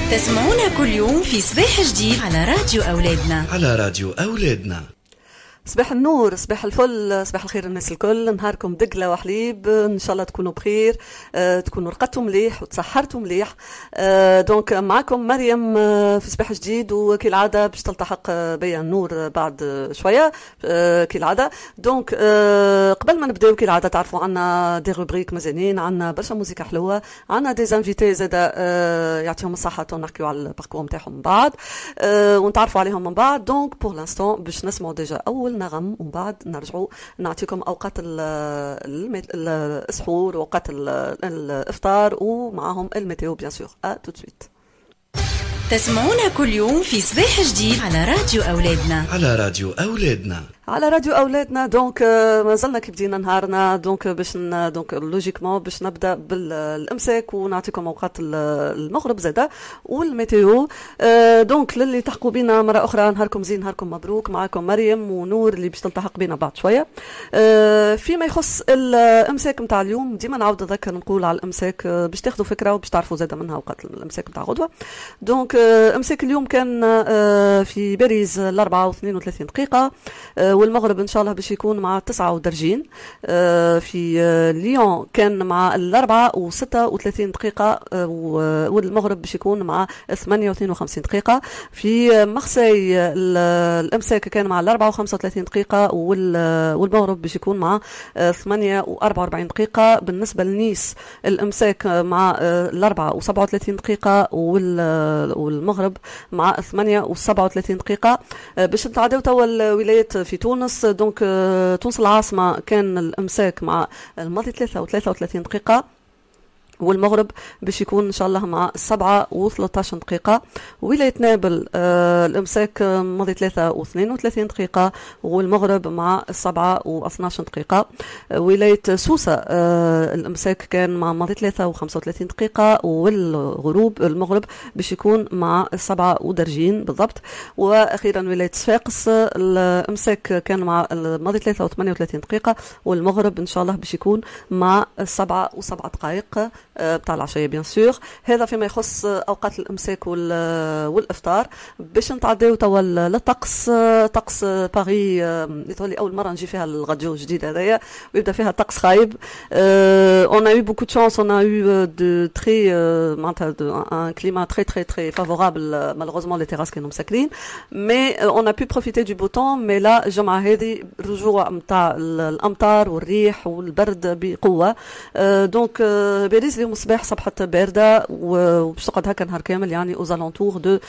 تسمعونا كل يوم في صباح جديد على راديو أولادنا. على راديو أولادنا. صباح النور، صباح الفل، صباح الخير الناس الكل. نهاركم دقلة وحليب، ان شاء الله تكونوا بخير، تكونوا رقدتوا مليح وتسحرتوا مليح. دونك معكم مريم في صباح جديد، وكالعادة باش تلتحق بيا النور بعد شوية كالعادة. دونك قبل ما نبداو كالعادة تعرفوا عنا دي روبريك مزيانين، عنا برشا موسيقى حلوة، عنا دي انفيتي زادا يعطيهم الصحة ونحكيو على الباركور نتاعهم من بعد ونتعرفوا عليهم من بعد. دونك بور لانستون باش نسمعوا ديجا أول نغم ومن بعد نرجعوا نعطيكم أوقات السحور وأوقات الإفطار ومعهم الميتيو بيان سور. تو سويت. تسمعونا كل يوم في صباح جديد على راديو أولادنا. على راديو أولادنا. على راديو أولادنا. دونك مازلنا كي بدينا نهارنا، دونك باش دونك لوجيكمون باش نبدا بالامساك ونعطيكم اوقات المغرب زاده والميتيو. دونك للي تحقوا بينا مره اخرى نهاركم زين، نهاركم مبروك. معكم مريم ونور اللي باش تلتحق بينا بعد شويه. فيما يخص الامساك نتاع اليوم، ديما نعاود نذكر نقول على الامساك باش تاخذوا فكره وباش تعرفوا زاده منها اوقات الامساك نتاع غدوه. دونك امساك اليوم كان في باريس 4 و32 دقيقه، والمغرب ان شاء الله باش يكون مع 9 درجين. في ليون كان مع 4 و36 دقيقه، والمغرب باش يكون مع 8 و52 دقيقه. في مارسي الامساك كان مع 4 و35 دقيقه، والمغرب باش يكون مع 8 و44 دقيقه. بالنسبه لنيس الامساك مع 4 و37 دقيقه، والمغرب مع 8 و37 دقيقه. باش نتعداو توا الولايات في تونس. دونك تونس العاصمة كان الامساك مع الماضي 3 و33 دقيقة، والمغرب باش يكون ان شاء الله مع 7 و13 دقيقة. ولاية نابل الامساك ماضي 3 و32 دقيقة، والمغرب مع 7 و12 دقيقة. ولاية سوسة الامساك كان مع ماضي 3 و35 دقيقة، والغروب المغرب باش يكون مع 7 درجين بالضبط. واخيرا ولاية صفاقس الامساك كان مع ماضي 3 و38 دقيقة، والمغرب ان شاء الله باش يكون مع 7 و7 دقائق بتاع العشية بيان سور. هذا فيما يخص اوقات الامساك والافطار. باش نتعداو توا للطقس. طقس باري يطولي اول مره نجي فيها الراديو الجديد هذايا ويبدا فيها طقس خايب. on a eu beaucoup de chance, on a eu de très un climat très très très favorable. Malheureusement les terrasses كانوا مسكرين، mais on a pu profiter du beau temps. mais là الجمعه هذه رجوع نتاع الامطار والريح والبرد بقوه. دونك باريس اليوم الصباح صبحت باردة وباش تقعد هكا نهار كامل، يعني aux alentours de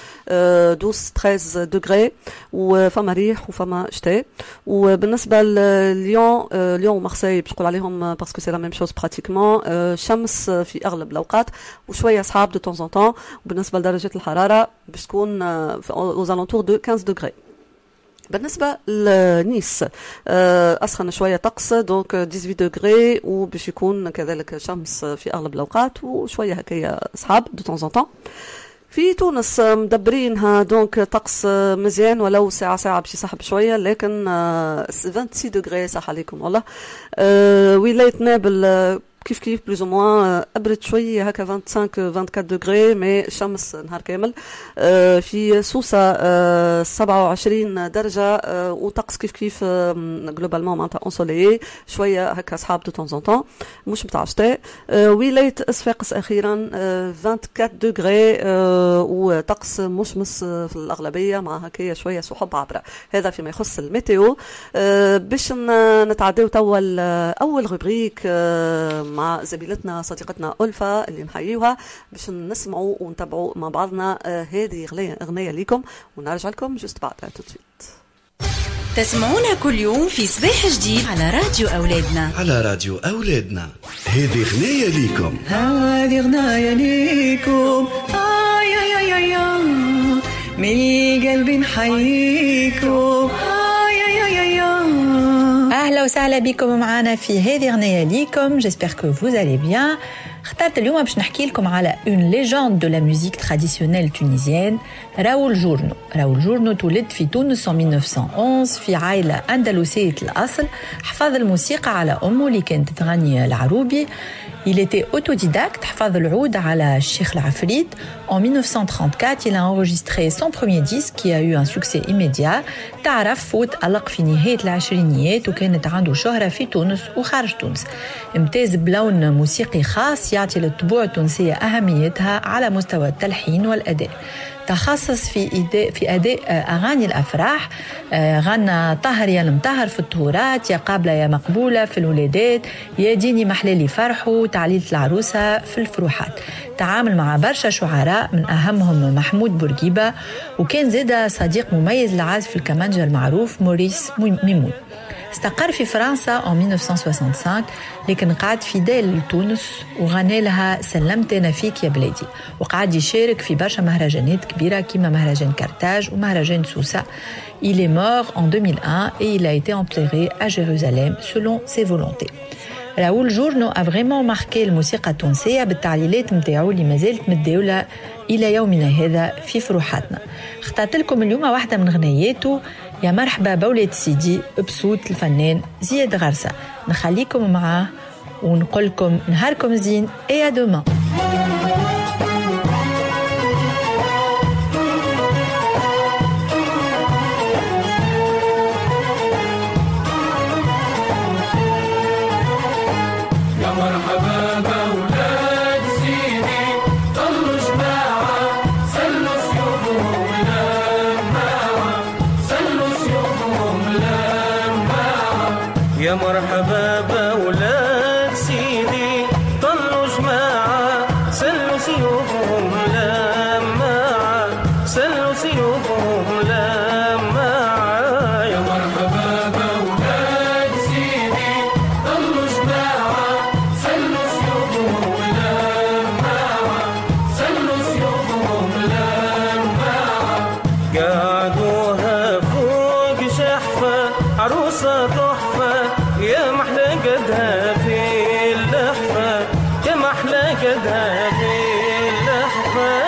12-13 degrés، وفما ريح وفما شتاء. وبالنسبة لليون ومارسي باش نقول عليهم باسكو سي لا ميم شوز براتيكمون، شمس في أغلب الأوقات وشوية صحاب دو طون زون طون. وبالنسبة لدرجة الحرارة باش تكون aux alentours de 15 degrés. بالنسبة لنيس أسخن شوية طقس، دونك 18 دغري، وباش يكون كذلك شمس في أغلب الأوقات وشوية هكايا صحاب دو طون زون طون. في تونس مدبرينها دونك طقس مزيان، ولو ساعة باش يسحب شوية، لكن 26 دغري صح عليكم والله. ولاية نابل كيف بلوز او موان ابرد شويه هكا 25-24 دغري، مي شمس نهار كامل. في سوسه 27 درجه، وطقس كيف جلوبالمون معناتها اونسوليي شويه هكا صحاب دو طون زون طون، مش نتاع شتاء. ولايه صفاقس اخيرا 24 دغري، وطقس مشمس في الاغلبيه مع هكايا شويه سحب عبره. هذا فيما يخص الميتيو. باش نتعداو توا اول روبريك مع زميلتنا صديقتنا ألفا اللي نحييها، باش نسمعوا ونتابعوا مع بعضنا هذه أغنية ليكم، ونرجع لكم جست بعد توتسويت. تسمعونا كل يوم في صباح جديد على راديو أولادنا. على راديو أولادنا. هذه أغنية ليكم، هذه أغنية ليكم، يا يا يا من قلبي نحييكم. أهلا وسهلا بكم معنا في هذه أغنية ليكم. J'espère que vous allez bien. اخترت اليوم باش نحكي لكم على une légende de la musique traditionnelle tunisienne، راول جورنو. راول جورنو تولد في تونس en 1911 في عائلة أندلسية الأصل. حفظ الموسيقى على أمه اللي كانت تغني العروبي. Il était autodidacte, حفظ العود على الشيخ العفريت. En 1934, il a enregistré son premier disque qui a eu un succès immédiat. تعرف وتألق في نهاية العشرينيات وكانت عنده شهرة في تونس وخارج تونس. امتاز بلون موسيقي خاص يعطي للطبوع التونسية أهميتها على مستوى التلحين والأداء. تخصص في أداء أغاني الأفراح. غنى طهر يا المطهر في الطهورات، يا قابلة يا مقبولة في الولادات، يا ديني محلالي فرحو، تعليلة العروسة في الفروحات. تعامل مع برشا شعراء من أهمهم محمود بورقيبة، وكان زادة صديق مميز لعازف الكمانجا المعروف موريس ميمون. استقر في فرنسا en 1965 لكن قعد فيدال لتونس وغنى لها سلمت أنا فيك يا بلادي، وقعد يشارك في برشا مهرجانات كبيرة كيما مهرجان كارتاج ومهرجان سوسة. Il est mort en 2001 et il a été enterré à Jérusalem selon ses volontés. راؤول جورنو a vraiment marqué الموسيقى التونسية بالتعليلات متاعو اللي مازالت متداولة إلى يومنا هذا في فروحاتنا. اخترت لكم اليوم واحدة من غنياته، يا مرحبا بولاد سيدي بصوت الفنان زياد غرسة. نخليكم معاه ونقول لكم نهاركم زين et à demain. يا مرحبا بأولاد سيدي طلوا جماعة سلوا سيوفهم لماعة سلوا سيوفهم لماعة. يا مرحبا بأولاد سيدي طلوا جماعة سلوا سيوفهم لماعة سلوا سيوفهم لماعة. قعدوها فوق جحفة عروسة تحفة يا محلى قدها في اللحفة يا محلى قدها في اللحفة.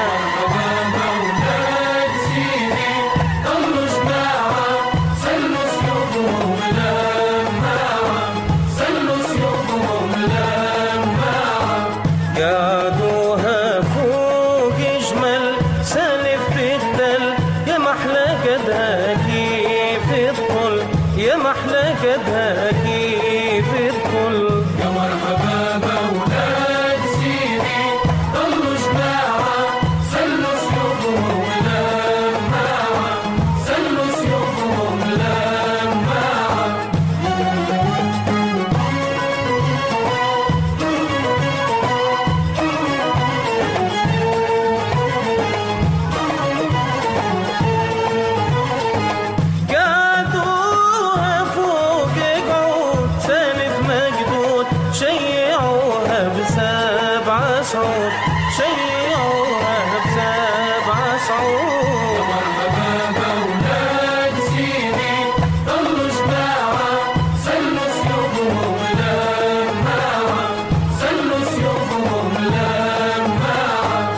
أولاد سيدي طلوا جماعة سلوا سيوفهم لماعة سلوا سيوفهم لماعة. قعدوها فوق جمل سالف بالدل يا محلى قدها كيف الطل يا محلى قدها كيف الطل. يا مرحبا بأولاد سيدي طلوا جماعة سلوا سيوفهم لماعة سلوا سيوفهم لماعة. شيعوها بسبع صعود شيعوها بسبع صعود. يا مرحبا بأولاد سيدي طلوا جماعة سلوا سيوفهم لماعة سلوا سيوفهم لماعة.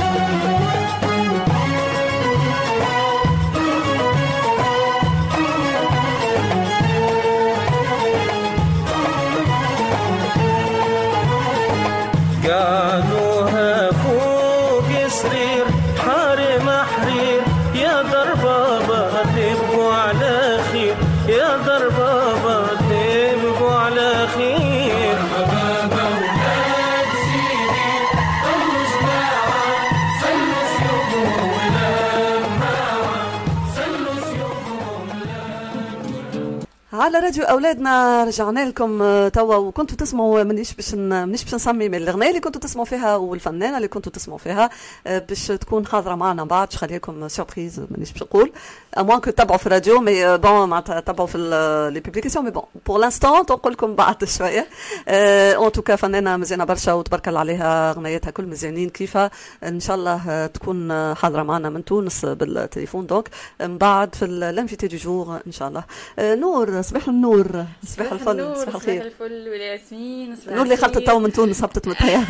قعدوها فوق سرير حارم حرير يا دربابة تبقوا على خير يا دربابة تبقوا على خير. مرحبا بأولاد سيدي طلوا جماعة سلوا سيوفهم لماعة سلوا سيوفهم لماعة. على راديو اولادنا رجعنا لكم توا، وكنتوا تسمعوا مانيش باش نسمي من الاغنيه اللي كنتوا تسمعوا فيها والفنانه اللي كنتوا تسمعوا فيها باش تكون حاضره معنا بعد. خلي لكم سوربريز مانيش باش نقول اموان كو تتبعوا في الراديو مي بون معناتها تتبعوا في لي بوبليكاسيون مي بون بور لانستون نقول لكم بعد شويه. اون توكا فنانه مزيانه برشا وتبارك الله عليها، اغنيتها كل مزيانين كيفها. ان شاء الله تكون حاضره معنا من تونس بالتليفون دونك من بعد في الانفيتي دو جور ان شاء الله. نور صباح النور صباح الفل صباح الخير. صباح الفل والياسمين. نور اللي خلطت تو من تونس هبطت متهيا.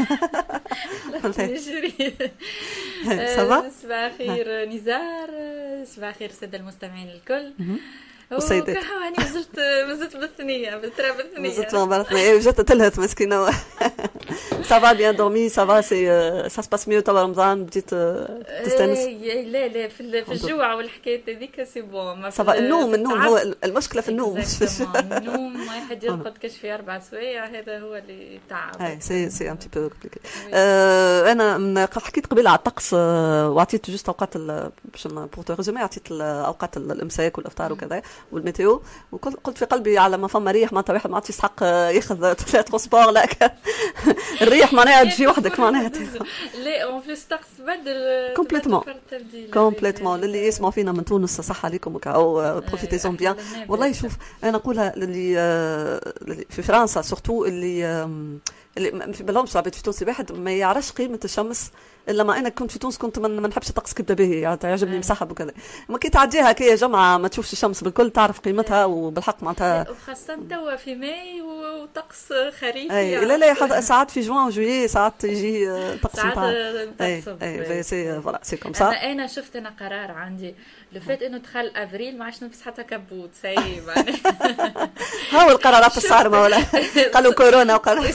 صباح الخير نزار، صباح الخير الساده المستمعين الكل. والسيدات. هاني مازلت بالثنيه بالتراب الثنيه مازلت ما بعرفنا جات تلهت مسكينه. سافا بيان دومي سافا سي سا سباس ميو تبع رمضان بديت تستانس. لا في الجوع والحكايات هذيك سي بون. سافا النوم هو المشكله في النوم. النوم ما يحد يرقد كاش في 4 سوايع هذا هو اللي تعب. اي سي ان بتي بو كومبليكي. انا حكيت قبيله على الطقس وعطيت جوست اوقات باش بور تو ريزومي عطيت اوقات الامساك والافطار وكذا والميتيو وقلت في قلبي على ما فما ريح معناتها واحد ما عادش يسحق ياخذ 3 سبور لا الريح معناها تجي وحدك معناها. لا اون بليس طقس بدل كومبليتمون اللي يسمعوا فينا من تونس صح عليكم او بروفيتيزون بيان. والله شوف انا نقولها اللي في فرنسا سورتو اللي في بالهمش عبيت في تونس واحد ما يعرفش قيمه الشمس الا ما انا كنت في تونس كنت ما نحبش الطقس كيبدا به يعني يعجبني مسحب وكذا. ما كي تعديها كي جمعه ما تشوفش الشمس بالكل تعرف قيمتها وبالحق معناتها وخاصه توا في ماي وطقس خريفي. اي لا ساعات في جوان وجويي ساعات يجي طقس نتاع اي سي فوالا سي كوم سا. انا شفت قرار عندي لو فات انه دخل ابريل ما عادش نلبس حتى كبوت ساي هاو القرارات الصارمه ولا قالوا كورونا وقالوا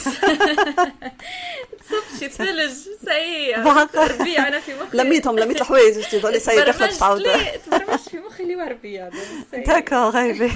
صبشي ثلج ساي ربيع. انا في مخي لميت الحوايج تقولي ساي دخلت تعاود تبرمج في مخي اللي وربيع داكور غايبه.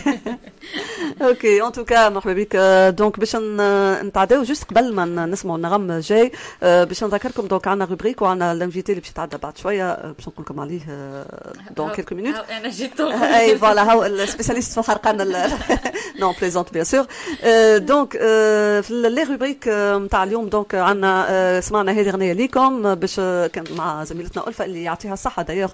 اوكي ان توكا مرحبا بك. دونك باش نتعداو جوست قبل ما نسمعوا النغم جاي باش نذكركم دونك عندنا روبريك وعندنا الانفيتي اللي باش يتعدى بعد شويه باش نقول لكم عليه دونك كيلكو مينوت. انا جيت اي فوالا هاو السبيسياليست في الحرقان نو بليزونت بيان سور. دونك في لي روبريك نتاع اليوم دونك عندنا سمعنا هذه اغنيه ليكم باش كان مع زميلتنا ألفة اللي يعطيها الصحه دايوغ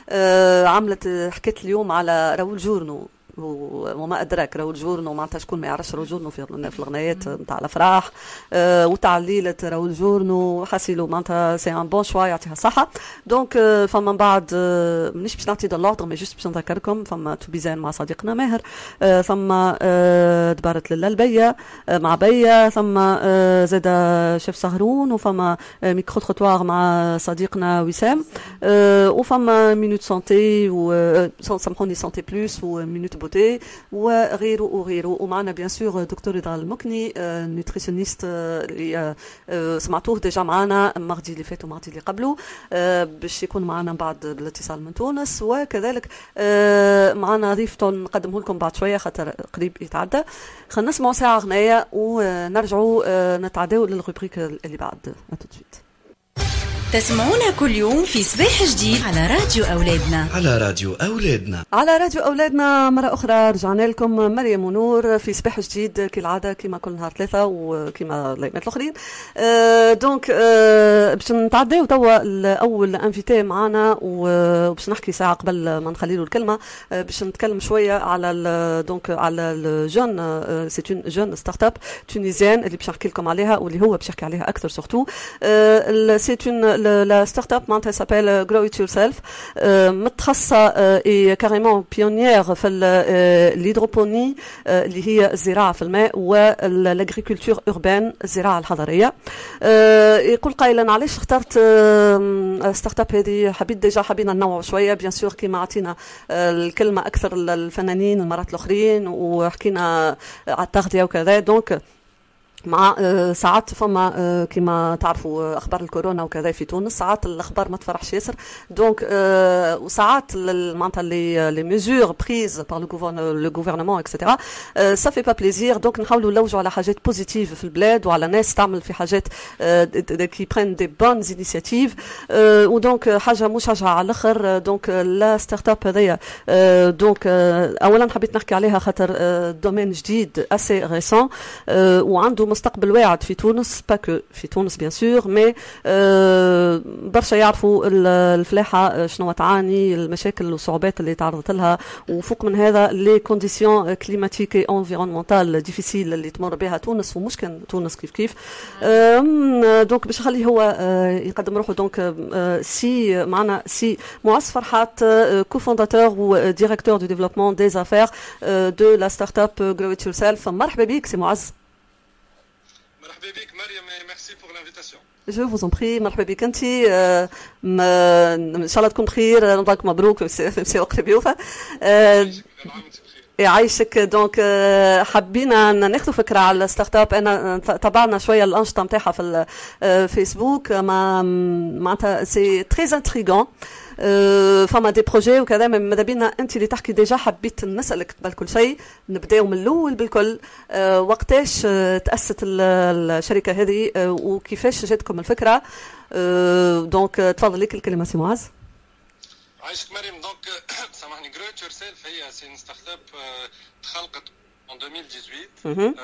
عملت حكيت اليوم على راول جورنو وما أدراك راول جورنو معناتها شكون ما يعرفش راول جورنو في الغنايات نتاع الأفراح وتعليلة راول جورنو حاسيلو معناتها سي ان بون شوا يعطيها الصحة. دونك فما من بعد مانيش باش نعطي دلوردر مي جوست باش نذكركم فما تو بيزان مع صديقنا ماهر فما دبارت للبية مع بية ثم زاد شيف سهرون وفما ميكرو تروتوار مع صديقنا وسام وفما مينوت سانتي سامحوني سانتي بلوس ومينوت بوتي وغيره ومعنا بيان سور دكتور رضا المكني نوتريسيونيست اللي سمعتوه ديجا معنا الماردي اللي فات وماردي اللي قبله باش يكون معنا بعد بالاتصال من تونس وكذلك معنا ضيف نقدمه لكم بعد شويه خاطر قريب يتعدى. خلينا نسمعوا ساعه اغنيه ونرجعوا نتعداو للروبريك اللي بعد. اتوتسويت تسمعونا كل يوم في صباح جديد على راديو أولادنا. على راديو أولادنا مرة أخرى رجعنا لكم مريم ونور في صباح جديد كالعادة كما كل نهار 3 وكما الأيامات الآخرين. دونك باش نتعداو توا الأول انفيتي معنا وباش نحكي ساعة قبل ما نخلي له الكلمة باش نتكلم شوية على دونك على الجون سي اون جون ستارت اب تونيزيان اللي باش نحكي لكم عليها واللي هو باش يحكي عليها أكثر سورتو. سي اون la start-up معناتها s'appelle Grow It Yourself متخصصة et carrément pionnière في الهيدروبوني اللي هي الزراعة في الماء والagriculture urbaine الزراعة الحضرية. يقول قائلا علاش اخترت ستارت اب هذه حبينا ننوع شوية بيان سور كيما عطينا الكلمة أكثر الفنانين المرات الأخرين وحكينا على التغذية وكذا دونك مع ساعات فما كما تعرفوا اخبار الكورونا وكذا في تونس ساعات الاخبار ما تفرحش ياسر دونك وساعات معناتها لي ميزور بريز بار لو غوفرنمون اكسيتيرا سا في با بليزير دونك نحاولوا نلوجوا على حاجات بوزيتيف في البلاد وعلى ناس تعمل في حاجات كي برين دي بونز انيشيتيف ودونك حاجه مشجعه على الاخر دونك لا ستارت اب هذيا دونك اولا حبيت نحكي عليها خاطر دومين جديد اسي ريسون وعنده مستقبل واعد في تونس باكو في تونس بيان سور مي برشا يعرفوا الفلاحه شنو تعاني المشاكل والصعوبات اللي تعرضت لها وفوق من هذا لي كونديسيون كليماتيك اي انفيرونمونتال ديفيسيل اللي تمر بها تونس ومشكل تونس كيف دونك باش نخليه هو يقدم روحه دونك سي معنا سي معز فرحات كوفونداتور و ديريكتور دو ديفلوبمون دي افير دو لا ستارت اب Grow It Yourself. مرحبا بك سي معز. مرحبا بك مريم ميرسي بور لانفيتاسيون. جو فوز ان بري مرحبا بك انت ان شاء الله تكون بخير رمضانك مبروك في وقت بيوفا. يعيشك. دونك حبينا ناخذ فكره على الستارت اب. انا تابعنا شويه الانشطه نتاعها في الفيسبوك، معناتها سي تري انتريغون. فما دي بروجي وكذا. ماذا بينا انت اللي تحكي ديجا، حبيت نسالك قبل كل شيء نبداو من الاول بالكل. وقتاش تاسست الشركه هذه وكيفاش جاتكم الفكره؟ دونك تفضل لك الكلمه سي معاذ. عايشك مريم. دونك سامحني، جروت يور سيلف هي سي ان ستارت اب تخلقت en 2018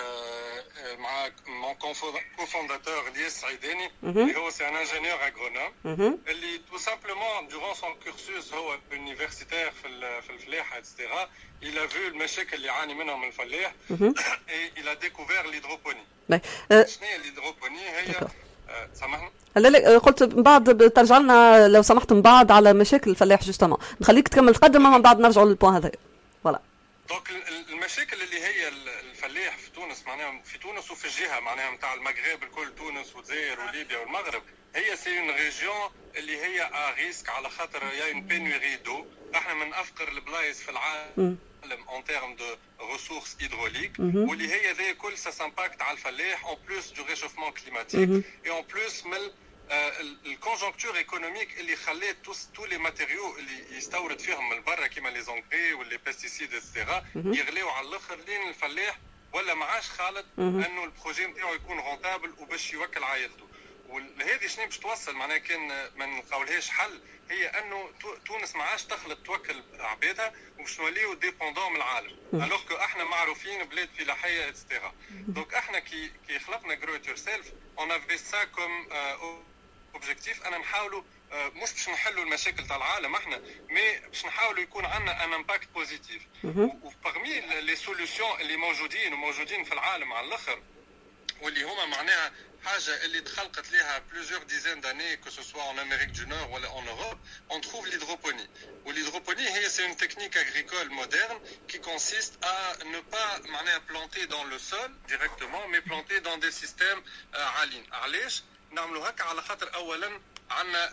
مع مون كوفونداتور الياس عيداني اللي هو سي ان انجينيور اغرونوم اللي تو سامبلومون دورون سون كورسوس هو يونيفرسيتير في الفلاحه اكسترا. il a vu المشاكل اللي يعاني منهم الفلاح et il a découvert l'hydroponie. شنو هي الهيدروبوني؟ هي سامحني لا قلت من بعد ترجع لنا لو سمحت من بعد على مشاكل الفلاح جوستومون. نخليك تكمل تقدم من بعد نرجعوا للبوان هذا. فوالا. دونك المشاكل اللي هي الفلاح في تونس معناها في تونس وفي الجهه معناها نتاع المغرب الكل، تونس والجزائر وليبيا والمغرب، هي سي اون ريجيون اللي هي ا ريسك على خاطر يا اون بينوري دو. احنا من افقر البلايص في العالم en termes de ressources hydrauliques واللي هي ذي كل ça s'impacte على الفلاح en plus du réchauffement climatique et en plus من الكونجونكتور ايكونوميك اللي خلات تو لي ماتيريو اللي يستورد فيهم من برا كيما لي زونغري واللي بيستيسيد اكسترا يغليو على الاخر لين الفلاح ولا معاش خالد انه البروجي نتاعو يكون رونتابل وباش يوكل عائلته. وهذه شنو باش توصل معناها كان ما نلقاولهاش حل، هي انه تونس ما عادش تخلط توكل عبادها وباش نوليو ديبوندون من العالم. الوغ كو احنا معروفين بلاد فلاحيه اكسترا. دونك احنا كي خلقنا جروت يور سيلف اون افي سا كوم اوبجيكتيف انا نحاولوا مش باش نحلوا المشاكل تاع العالم احنا، مي باش نحاولوا يكون عندنا ان امباكت بوزيتيف. وبارمي لي سوليوشن اللي موجودين في العالم على الاخر واللي هما معناها حاجه اللي تخلقت لها plusieurs dizaines d'années que ce soit en Amérique du Nord ou en Europe, on trouve l'hydroponie. L'hydroponie c'est une technique agricole moderne qui consiste à ne pas معناها planter dans le sol directement mais planter dans des systèmes عاليين. علاش نعملوا هكا؟ على خاطر اولا عندنا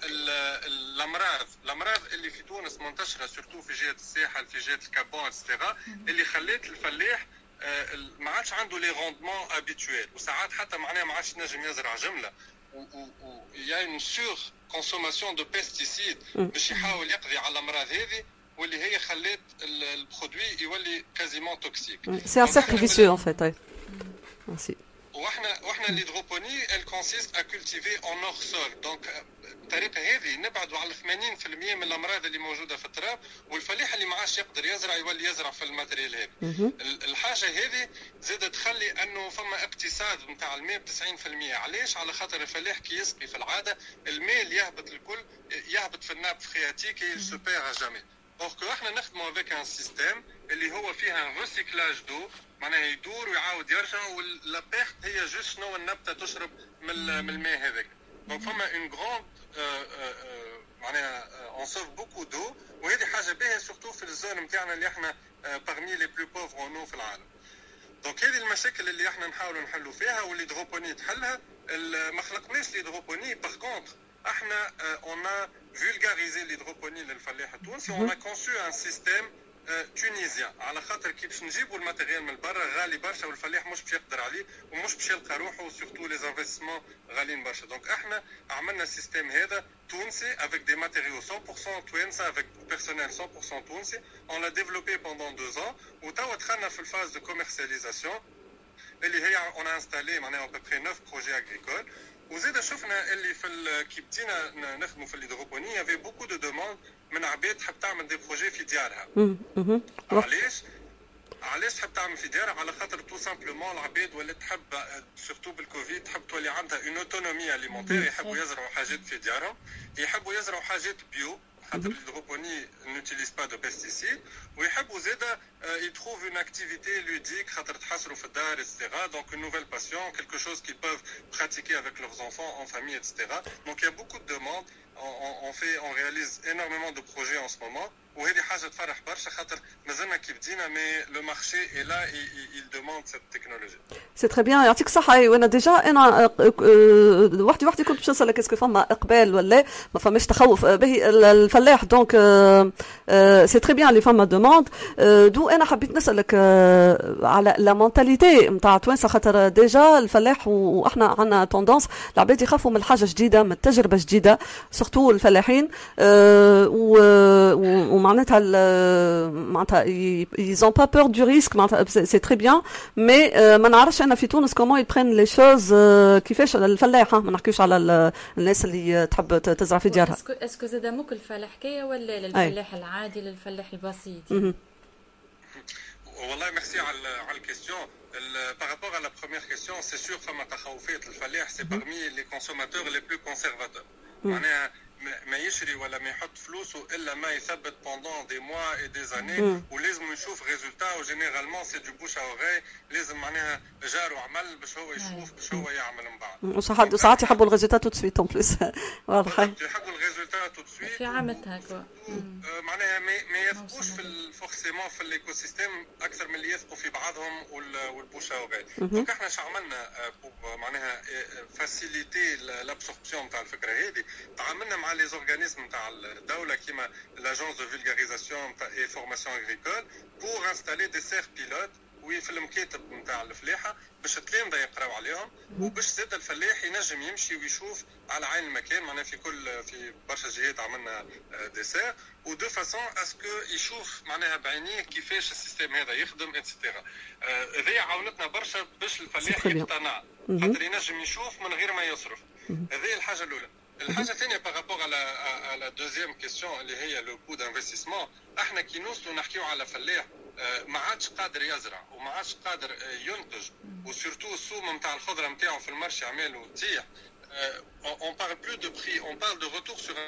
الامراض اللي في تونس منتشره سورتو في جهه الساحل في جهه الكابون اكسترا اللي خلات الفلاح ما عادش عنده لي روندمون ابيتويل وساعات حتى معناها ما عادش نجم يزرع جمله و يا اون سور كونسوماسيون دو بيستيسيد باش يحاول يقضي على الامراض هذه واللي هي خلات البرودوي يولي كازيمون توكسيك. سي ان سيركل فيسيو ان فيت. ميرسي. واحنا الهيدروبوني elle consiste à cultiver en hors sol. دونك الطريقه هذه نبعدوا على 80% من الامراض اللي موجوده في التراب والفلاح اللي ما عادش يقدر يزرع يولي يزرع في الماتريال هذا. الحاجه هذه زاد تخلي انه فما اقتصاد نتاع الماء ب 90%. علاش؟ على خاطر الفلاح كي يسقي في العاده الماء اللي يهبط الكل يهبط في الناب فرياتيك et il se perd à jamais. دونك احنا نخدموا افيك ان سيستيم اللي هو فيها ان ريسيكلاج دو معناها يدور ويعاود يرجع ولا بيرت هي جوست شنو النبته تشرب من الماء هذاك. دونك فما اون غروند معناها اون سوف بوكو دو وهذه حاجه باهيه سورتو في الزون نتاعنا اللي احنا بارمي لي بلو بوفر اون في العالم. دونك هذه المشاكل اللي احنا نحاولوا نحلوا فيها والهيدروبوني تحلها. ما خلقناش الهيدروبوني باغ كونتر احنا اون ا فولغاريزي الهيدروبوني للفلاح التونسي اون ا كونسو ان سيستيم تونيزيان على خاطر كي باش نجيبوا الماتيريال من برا غالي برشا والفلاح مش باش يقدر عليه ومش باش يلقى روحه سورتو لي انفستيسمون غاليين برشا. دونك احنا عملنا السيستيم هذا تونسي افيك دي ماتيريو 100% توانسه افيك بيرسونيل 100% تونسي. اون لا ديفلوبي بوندون 2 ans وتوا دخلنا في الفاز دو كوميرسياليزاسيون اللي هي اون انستالي معناها ا بوبري 9 بروجي اغريكول. وزيد شفنا اللي في كي بدينا نخدموا في الهيدروبوني يافي بوكو دو دوموند من عباد تحب تعمل دي بروجي في ديارها. علاش تحب تعمل في ديارها؟ على خاطر تو سامبلومون العباد ولات تحب سورتو بالكوفيد تحب تولي عندها اون اوتونومي اليمونتير، يحبوا يزرعوا حاجات في ديارهم، يحبوا يزرعوا حاجات بيو خاطر الهيدروبوني نوتيليز با دو بيستيسيد، ويحبوا زاده يتروف اون اكتيفيتي لوديك خاطر تحصلوا في الدار اكسترا. دونك اون نوفيل باسيون كيلكو شوز كي بوف براتيكي افيك لورز انفون ان فامي اكسترا. دونك يا بوكو دو دوموند on réalise énormément de projets en ce moment. وهذه حاجه تفرح برشا خاطر مازلنا كي بدينا مي لو مارشي اي لا il demande cette technologie. سي تري بيان يعطيك الصحه. وانا ديجا انا وحدي كنت باش نسالك اسكو فما اقبال ولا ما فماش تخوف به الفلاح دونك سي تري بيان اللي فما دوموند. دو انا حبيت نسالك على لا مونتاليتي نتاع توانسه خاطر ديجا الفلاح واحنا عندنا توندونس العباد يخافوا من حاجه جديده من تجربه جديده سورتو الفلاحين معناتها ils ont pas peur du risque c'est très bien mais ما نعرفش انا في تونس comment ils prennent les choses كيفاش الفلاح ما نحكيوش على الناس اللي تحب تزرع في ديارها. اسكو زاد موك الفلاحكيه ولا للفلاح العادي للفلاح البسيط؟ والله ميرسي على الكيستيون. Par rapport à la première question, c'est sûr فما تخوفات الفلاح c'est parmi les consommateurs les plus conservateurs. معناها ما يشري ولا ما يحط فلوسه الا ما يثبت pendant des mois et des années ولازم يشوف ريزولتا وجينيرالمون سي دو بوش اوغي. لازم معناها جاره عمل باش هو يشوف باش هو يعمل من بعد. وساعات يحبوا الريزولتا تو سويت اون بليس. واضح يحبوا الريزولتا تو سويت في عامتها كوا معناها ما يثقوش في فورسيمون في الايكو سيستيم اكثر من اللي يثقوا في بعضهم والبوش اوغي. دونك احنا شو عملنا معناها فاسيليتي لابسوربسيون تاع الفكره هذه. تعاملنا مع les organismes تاع الدولة كيما l'agence de vulgarisation et formation agricole pour installer des serres pilotes وفي المكاتب نتاع الفلاحة باش التلامذة يقراو عليهم وباش زاد الفلاح ينجم يمشي ويشوف على عين المكان. معناها في برشا جهات عملنا دي سير ودو فاسون اسكو يشوف معناها بعينيه كيفاش السيستم هذا يخدم اتسيتيرا. هذه عاونتنا برشا باش الفلاح يقتنع خاطر ينجم يشوف من غير ما يصرف. هذه الحاجة الأولى. الحاجه الثانيه بارابور على دوزيام كيستيون اللي هي لو كو دانفستيسمون. احنا كي نوصلوا نحكيو على فلاح ما عادش قادر يزرع وما عادش قادر ينتج وسورتو السوم نتاع الخضره نتاعو في المارشي عمالو تزيح. on parle plus de prix, on parle de retour sur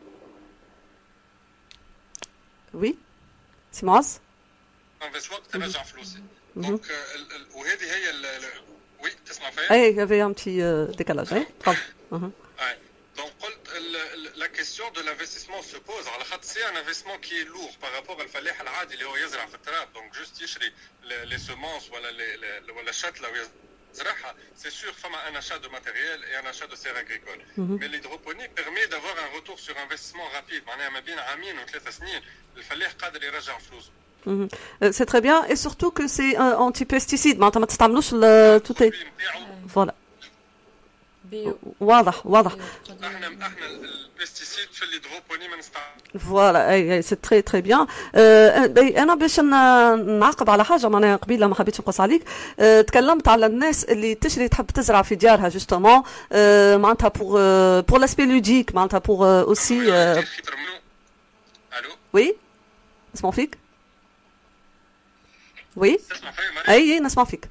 oui c'est معز وقت ترجع فلوسي. دونك وهذه هي وي تسمع فيا اي يافي ان بتي ديكالاج اي تفضل. Donc, la question de l'investissement se pose. Alors, c'est un investissement qui est lourd par rapport à الفلاح العادي اللي هو يزرع في التراب. Donc, juste يشري les semences ولا الشتلة ويزرعها. C'est sûr, فما un achat de matériel et un achat de serres agricoles. Mais l'hydroponie permet d'avoir un retour sur investissement rapide. معناها ما بين عامين و3 سنين الفلاح قادر يرجع فلوسه. C'est très bien et surtout que c'est anti-pesticide. ما تستعملوش tout est voilà. واضح احنا البيستيسيد في الهيدروبوني ما نستعملوش. فوالا اي سي تري تري بيان. انا باش نعقب على حاجه معناها قبيله ما حبيتش نقص عليك. تكلمت على الناس اللي تشري تحب تزرع في ديارها جوستومون معناتها بور لاسبي لوديك معناتها بور اوسي. الو وي نسمع فيك. وي اي نسمع فيك.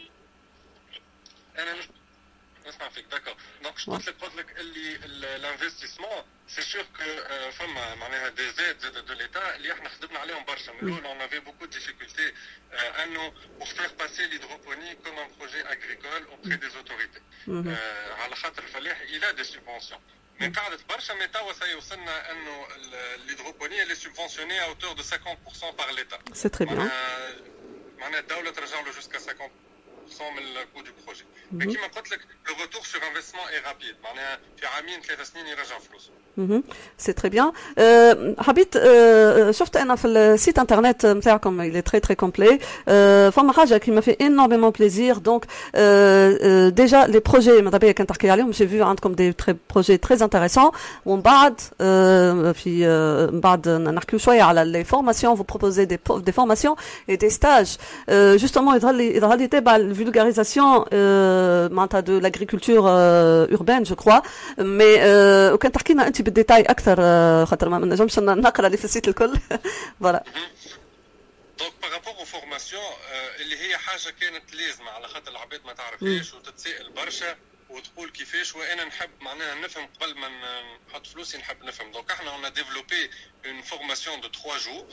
انا نسمع فيك داكور. دونك قلت لك اللي الانفستيسمون سي سور كو فما معناها دي زيد دو ليتا اللي احنا خدمنا عليهم برشا من الاول. اون افي بوكو دي ديفيكولتي انه بور فير باسي ليدروبوني كوم ان بروجي اغريكول اوبري دي اوتوريتي على خاطر الفلاح الى دي سوبونسيون. من قاعدة برشا مي توا سيوصلنا انه الهيدروبوني اللي سوبونسيوني ا اوتور دو 50% بار ليتا. سي تري بيان. معناها الدولة ترجع له جوسكا 50% من الكو دو بروجي. مي كيما قلت لك لو روتور سور انفستيسمون اي رابيد. معناها في عامين 3 سنين يرجع فلوسه. سي تري بيان. حبيت شفت انا في السيت انترنت نتاعكم اللي تري تري كومبلي فما حاجه كي ما في انورمون بليزير. دونك ديجا لي بروجي ماذا بيا كان تحكي عليهم جي فيو عندكم دي بروجي تري انتريسون ومن بعد في من بعد نحكيو شويه على لي فورماسيون. فو بروبوزي دي فورماسيون اي دي ستاج جوستومون يظهر لي تبع الفولغاريزاسيون معناتها دو لاغريكولتور اوربان جو كروا. مي وكان تحكي لنا انت بالديتاي اكثر خاطر ما نجمش نقرا اللي في السيت الكل. فوالا. دونك بارابور او فورماسيون اللي هي حاجه كانت لازمه على خاطر العباد ما تعرفهاش وتتسائل برشا وتقول كيفاش وانا نحب معناها نفهم قبل ما نحط فلوسي نحب نفهم. دونك احنا on a développé une formation de 3 jours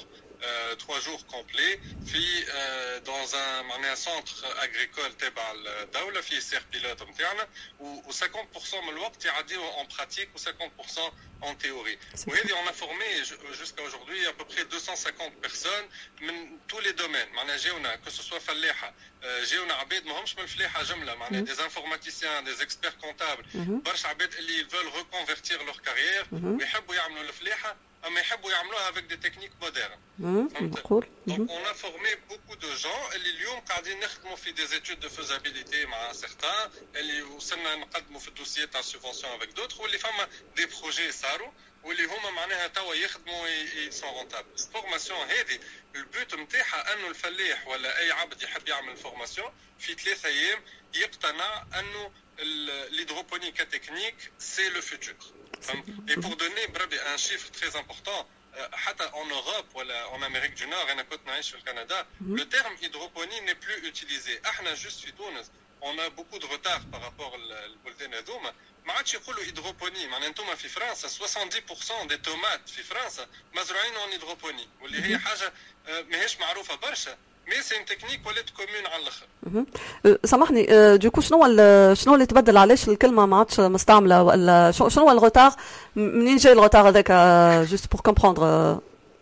3 jours complets في dans un معناها centre agricole تبع الدولة في سير بيلوت نتاعنا و50% من الوقت يعديو en pratique و50% en théorie. وهذه on a formé jusqu'à aujourd'hui à peu près 250 personnes من tous les domaines. معناها جاونا que ce soit فلاحة جاونا عباد ماهمش من الفلاحة جملة معناها des informaticiens des experts comptables برشا عباد اللي veulent reconvertir leur carrière ويحبوا يعملوا الفلاحة أما يحبوا يعملوها avec des techniques modernes. Donc on a formé beaucoup de gens اللي اليوم قاعدين نخدموا في des études de faisabilité مع certains اللي وصلنا نقدموا في الدوسيات تاع subvention avec d'autres واللي فما des projets صاروا واللي هما معناها توا يخدموا sont rentables. الفورماسيون هذه البوت نتاعها انه الفلاح ولا اي عبد يحب يعمل فورماسيون في 3 ايام يقتنع انه l'hydroponie technique c'est le futur. Et pour donner un chiffre très important, en Europe ou en Amérique du Nord, et au Canada, le terme hydroponie n'est plus utilisé. Juste في تونس, on a beaucoup de retard par rapport للبلدان هذوما. ما عادش يقولوا hydroponie. معناها انتم في فرنسا 70% des tomates في فرنسا مزروعين en hydroponie. واللي هي حاجة ماهيش معروفة برشا. مي سي ان تكنيك ولات كومون على الاخر. سامحني دوكو شنو اللي تبدل علاش الكلمه ما عادش مستعمله ولا شنو هو الغوتار منين جاي الغوتار هذاك جوست بور كومبروندر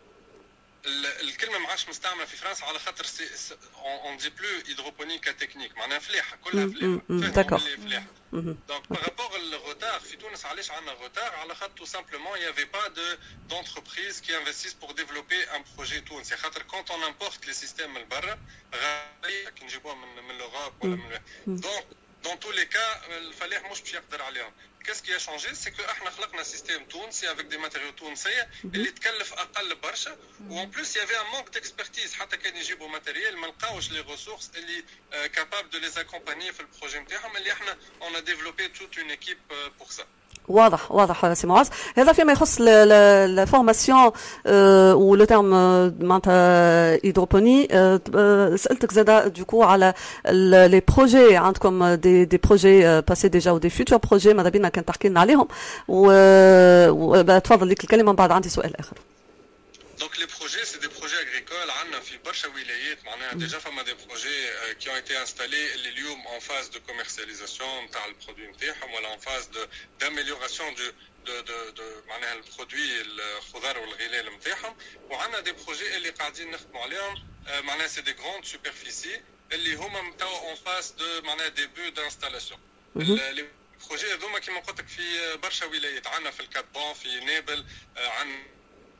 الكلمه ما عادش مستعمله في فرنسا على خاطر اون دي بلو هيدروبونيك تكنيك معناها فلاحه كلها فلاحه فلاحه دونك بارابور الغوتار في تونس علاش عندنا غوتار على خاطر تو سامبلومون يافي با دونتربريز كي انفستيس بور ديفلوبي ان بروجي تونسي خاطر كونت اون امبورت لي سيستيم من برا غاليه كي نجيبوهم من لوروب ولا من دونك dans tous les cas الفلاح مش باش يقدر عليهم. Qu'est-ce qui a changé, c'est que احنا خلقنا سيستم تونسي avec des matériaux تونسية اللي تكلف اقل برشا وان بلوس يافي ان مانك ديكسبرتيز حتى كان يجيبوا ماتيريال ما لقاوش لي ريسورس اللي كابابل دو لي اكومباني في البروجي نتاعهم اللي احنا اون ا ديفلوبي توت اون ايكيب بور سا. واضح سي معاذ. هذا فيما يخص لا فورماسيون ولو تيرم معناتها هيدروبوني. سالتك زاده دوكو على لي بروجي عندكم دي بروجي باسي ديجا و دي فيوتور بروجي ماذا بينا كان تحكي لنا عليهم وتفضل ليك الكلمه من بعد عندي سؤال اخر. Donc les projets, c'est des projets agricoles. عندنا في برشا ولايات معناها déjà فما des projets qui ont été installés اللي اليوم en phase de commercialisation نتاع البرودوي نتاعهم ولا en phase d'amélioration de معناها البرودوي الخضار والغلال نتاعهم وعندنا des projets اللي قاعدين نخدموا عليهم معناها c'est des grandes superficies اللي هما توا en phase de معناها début d'installation. les projets هذوما كيما قلت لك في برشا ولايات عندنا في الكابون في نابل عندنا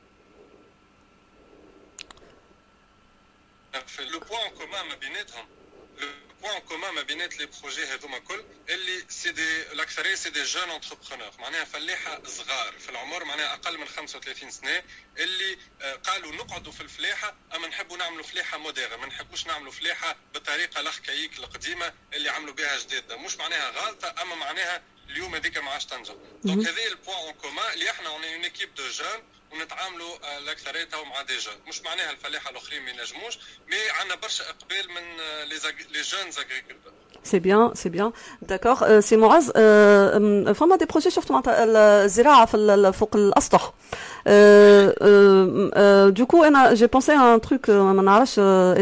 le point en commun ما بيناتهم le point en commun ما بينات les projets هذوما كل اللي سي دي الاكثريه سي دي جون انتربرونور معناها فلاحه صغار في العمر معناها اقل من 35 سنه اللي قالوا نقعدوا في الفلاحه اما نحبوا نعملوا فلاحه موديرن ما نحبوش نعملوا فلاحه بالطريقه الاركايك القديمه اللي عملوا بها جديده مش معناها غلطه اما معناها اليوم هذيك ما عادش تنجح. دونك هذا البوان اون كومان اللي احنا اون اون ايكيب دو جون ونتعاملوا الاكثريه تاعهم مع دي جون مش معناها الفلاحه الاخرين ما ينجموش مي عندنا برشا اقبال من لي جونز اغريكولتور. سي بيان داكور سي معاذ. فما دي بروجي شفت معناتها الزراعه في فوق الاسطح دوكو انا جي بونسي ان تروك ما نعرفش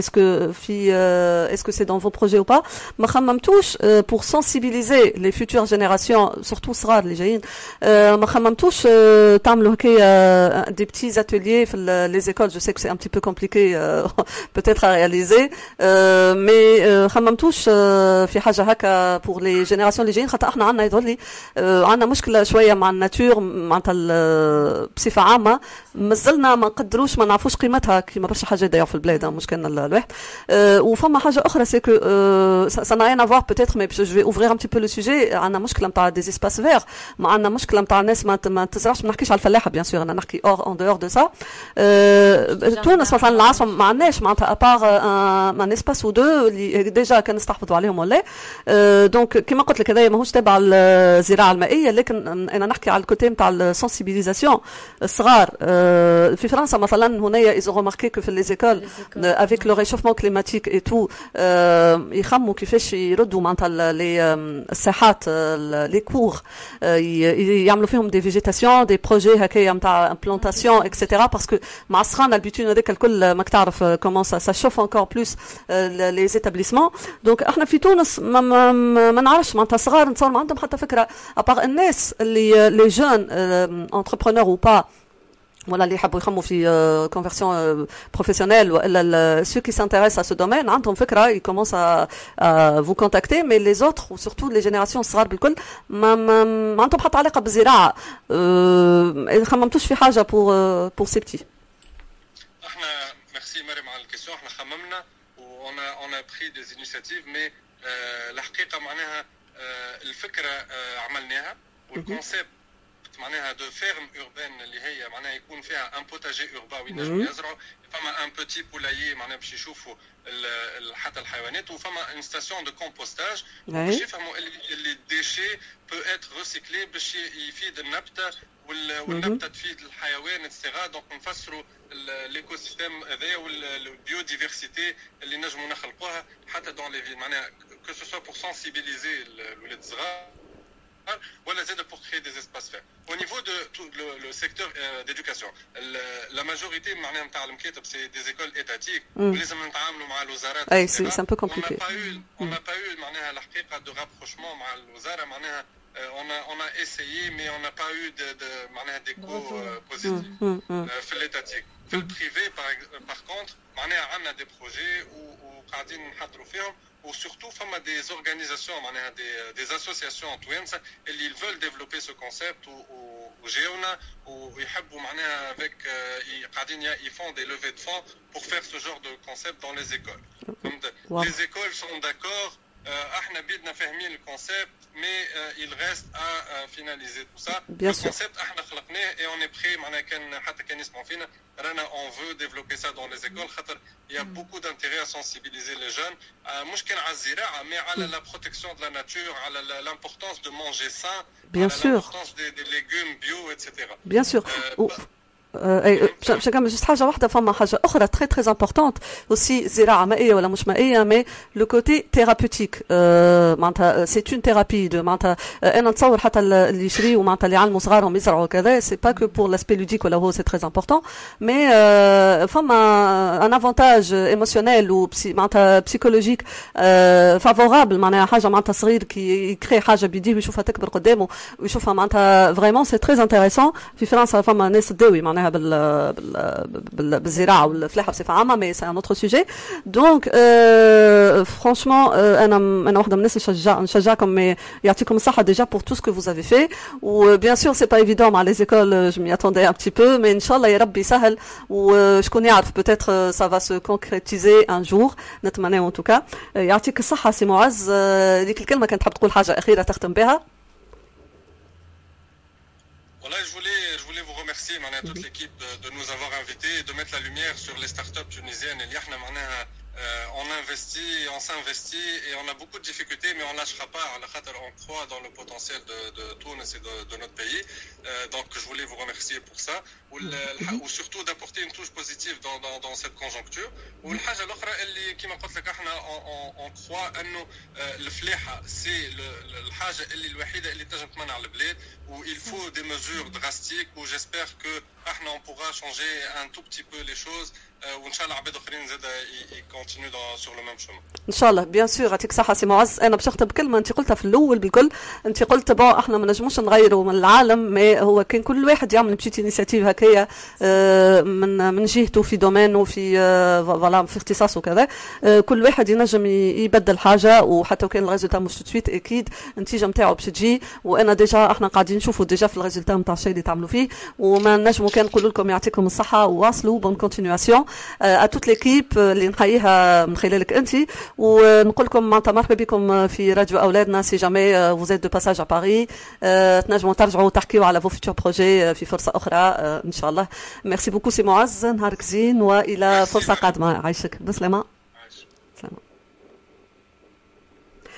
اسكو سي دون فو بروجي او با ما خممتوش بور سنسيبيليزي لي فيوتور جينيراسيون سورتو صغار اللي جايين ما خممتوش تعملوا هكايا دي بتيز اتيليي في لي زيكول جو سي كو سي ان بتي بو كومبليكي بوتيتر ا رياليزي مي خممتوش في حاجه هكا بور لي جينيراسيون اللي جايين خاطر احنا عندنا يظهر لي عندنا مشكله شويه مع الناتور معناتها بصفه عامه مازلنا ما نقدروش ما نعرفوش قيمتها كيما برشا حاجه داير في البلاد مش كان الواحد وفما حاجه اخرى سي كو سا نا ريان افوار بوتيتر مي جو في اوفرير ان بتي بو لو سوجي عندنا مشكله نتاع دي اسباس فير ما عندنا مشكله نتاع الناس ما تزرعش ما نحكيش على الفلاحه بيان سور انا نحكي اون دور دو سا تونس مثلا العاصمه ما عندناش معناتها ابار ان اسباس او دو اللي ديجا كان نستحفظوا عليهم ولا كومبلي. دونك كما قلت لك هذايا ماهوش تابع الزراعه المائيه، لكن انا نحكي على الكوتي نتاع السنسيبيليزاسيون الصغار. في فرنسا مثلا هنايا ils ont remarqué que في les écoles avec le réchauffement climatique et tout يخموا كيفاش يردوا معناتها الساحات les cours يعملوا فيهم des végétations des projets هكايا نتاع implantation etc. parce que مع السخانه البيتون هذاك الكل ماك تعرف comment ça chauffe encore plus les établissements. donc احنا في تونس ما نعرفش معناتها صغار نتصور ما عندهم حتى فكره ابار الناس اللي les jeunes entrepreneurs ou pas voilà اللي يحبوا يخموا في conversion professionnelle ولا ceux qui s'intéressent à ce domaine عندهم فكره ils commencent à vous contacter mais les autres ou surtout les générations الصغار بالكل ما عندهم حتى علاقه بالزراعه. خممتوش في حاجه pour ces petits؟ احنا ميرسي مريم على الكيسيون. احنا خممنا on a pris des initiatives mais الحقيقه معناها الفكره عملناها والكونسيبت معناها دو فيرم اوربان اللي هي معناها يكون فيها ان بوتاجي اوربان وينجموا يزرعوا، فما ان بوتي بولايي معناها باش يشوفوا حتى الحيوانات، وفما ان ستاسيون دو كومبوستاج باش يفهموا اللي الديشي بو اتر ريسيكلي باش يفيد النبته والنبته تفيد الحيوان اتسيغا. دونك نفسروا الايكو سيستيم هذايا والبيوديفرسيتي اللي نجموا نخلقوها حتى دون لي فيل معناها كو سو سوا بور سنسيبيليزي الولاد الصغار ولا زاد pour créer des espaces verts. Au niveau de tout le secteur d'éducation, la majorité معناها نتاع المكاتب c'est des écoles étatiques ولازم نتعاملوا مع الوزارات. اي سي un peu compliqué. On n'a pas eu معناها الحقيقه de rapprochement مع الوزاره معناها on a essayé mais on n'a pas eu de معناها d'écho positif في l'étatique. في البريفي par contre معناها عندنا des projets وقاعدين نحضروا فيهم وsurtout فما des organisations معناها des associations توانسه اللي veulent développer ce concept وجاونا ويحبوا معناها avec قاعدين ils font des levées de fonds pour faire ce genre de concept dans les écoles. Les écoles sont d'accord. احنا بدنا فاهمين الكونسيبت مي il reste à finaliser tout ça. الكونسيبت احنا خلقناه et on est prêt معناها كان حتى كان يسمعوا فينا رانا on veut développer ça dans les écoles خاطر il y a beaucoup d'intérêt à sensibiliser les jeunes مش كان على الزراعه مي على la protection de la nature على l'importance de manger sain, bien sûr, l'importance des légumes bio etc. bien sûr. باش نكمل جست حاجه واحده. فما حاجه اخرى تري تري امبورطونت اوسي زراعه مائيه ولا مش مائيه مي لو كوتي ثيرابوتيك معناتها سي اون ثيرابي دو معناتها انا نتصور حتى اللي يشريوا معناتها اللي يعلموا صغارهم يزرعوا كذا سي با كو بور لاسبي لوديك ولا هو سي تري امبورطون مي فما ان افونتاج ايموشنيل و معناتها بسيكولوجيك فافورابل معناها حاجه معناتها صغير كي يكري حاجه بيديه ويشوفها تكبر قدامه ويشوفها معناتها فريمون سي تري انتريسون. في فرنسا فما ناس تداوي معناها بالزراعه والفلاحه بصفه عامه مي سي ان اوتر سوجي. دونك فرانشمون انا واحده من الناس نشجعكم مي يعطيكم الصحه ديجا بور تو سكو فوز افي في. وبيان سور سي با ايفيدون مع لي زيكول جو مي اتوندي ان بتي بو مي ان شاء الله يا ربي يسهل وشكون يعرف بوتيتر سا فا سو كونكريتيزي ان جور نتمنى ان توكا. يعطيك الصحه سي معز. ديك الكلمه كانت تحب تقول حاجه اخيره تختم بها؟ Voilà, je voulais vous remercier, toute l'équipe de nous avoir invités et de mettre la lumière sur les startups tunisiennes. On investit, on s'investit et on a beaucoup de difficultés, mais on ne lâchera pas. On croit dans le potentiel de Tunis et de notre pays. Donc, je voulais vous remercier pour ça. Ou surtout d'apporter une touche positive dans cette conjoncture. والحاجة الأخرى اللي كما قلت لك احنا on croit أنه الفلاحة c'est الحاجة الوحيدة اللي تنجم تمنع البلاد où il faut des mesures drastiques où j'espère que احنا on pourra changer un tout petit peu les choses وان شاء الله عباد اخرين زاد يكونتينيو سور لو ميم شومون ان شاء الله. بيان سور يعطيك صحه سي معز. انا باش نختم بكلمه انت قلتها في الاول بالكل. انت قلت بون احنا ما نجموش نغيروا من العالم مي هو كان كل واحد يعمل بشيت انيشيتيف هكايا من جهته في دومين وفي فوالا في اختصاص وكذا. كل واحد ينجم يبدل حاجه وحتى وكان الريزولتا مش تو سويت اكيد النتيجه نتاعو باش تجي. وانا ديجا احنا قاعدين نشوفوا ديجا في الريزولتا نتاع الشيء اللي تعملوا فيه وما نجموا كان نقول لكم يعطيكم الصحه وواصلوا بون كونتينياسيون à toute l'équipe اللي نحييها من خلالك انت ونقول لكم معناتها مرحبا بكم في راديو اولادنا. سي جامي vous êtes de passage à Paris تنجموا ترجعوا تحكيوا على vos futurs projets في فرصه اخرى ان شاء الله. ميرسي بوكو سي معز. نهارك زين والى فرصه قادمه. عايشك بسلامه. سلامه.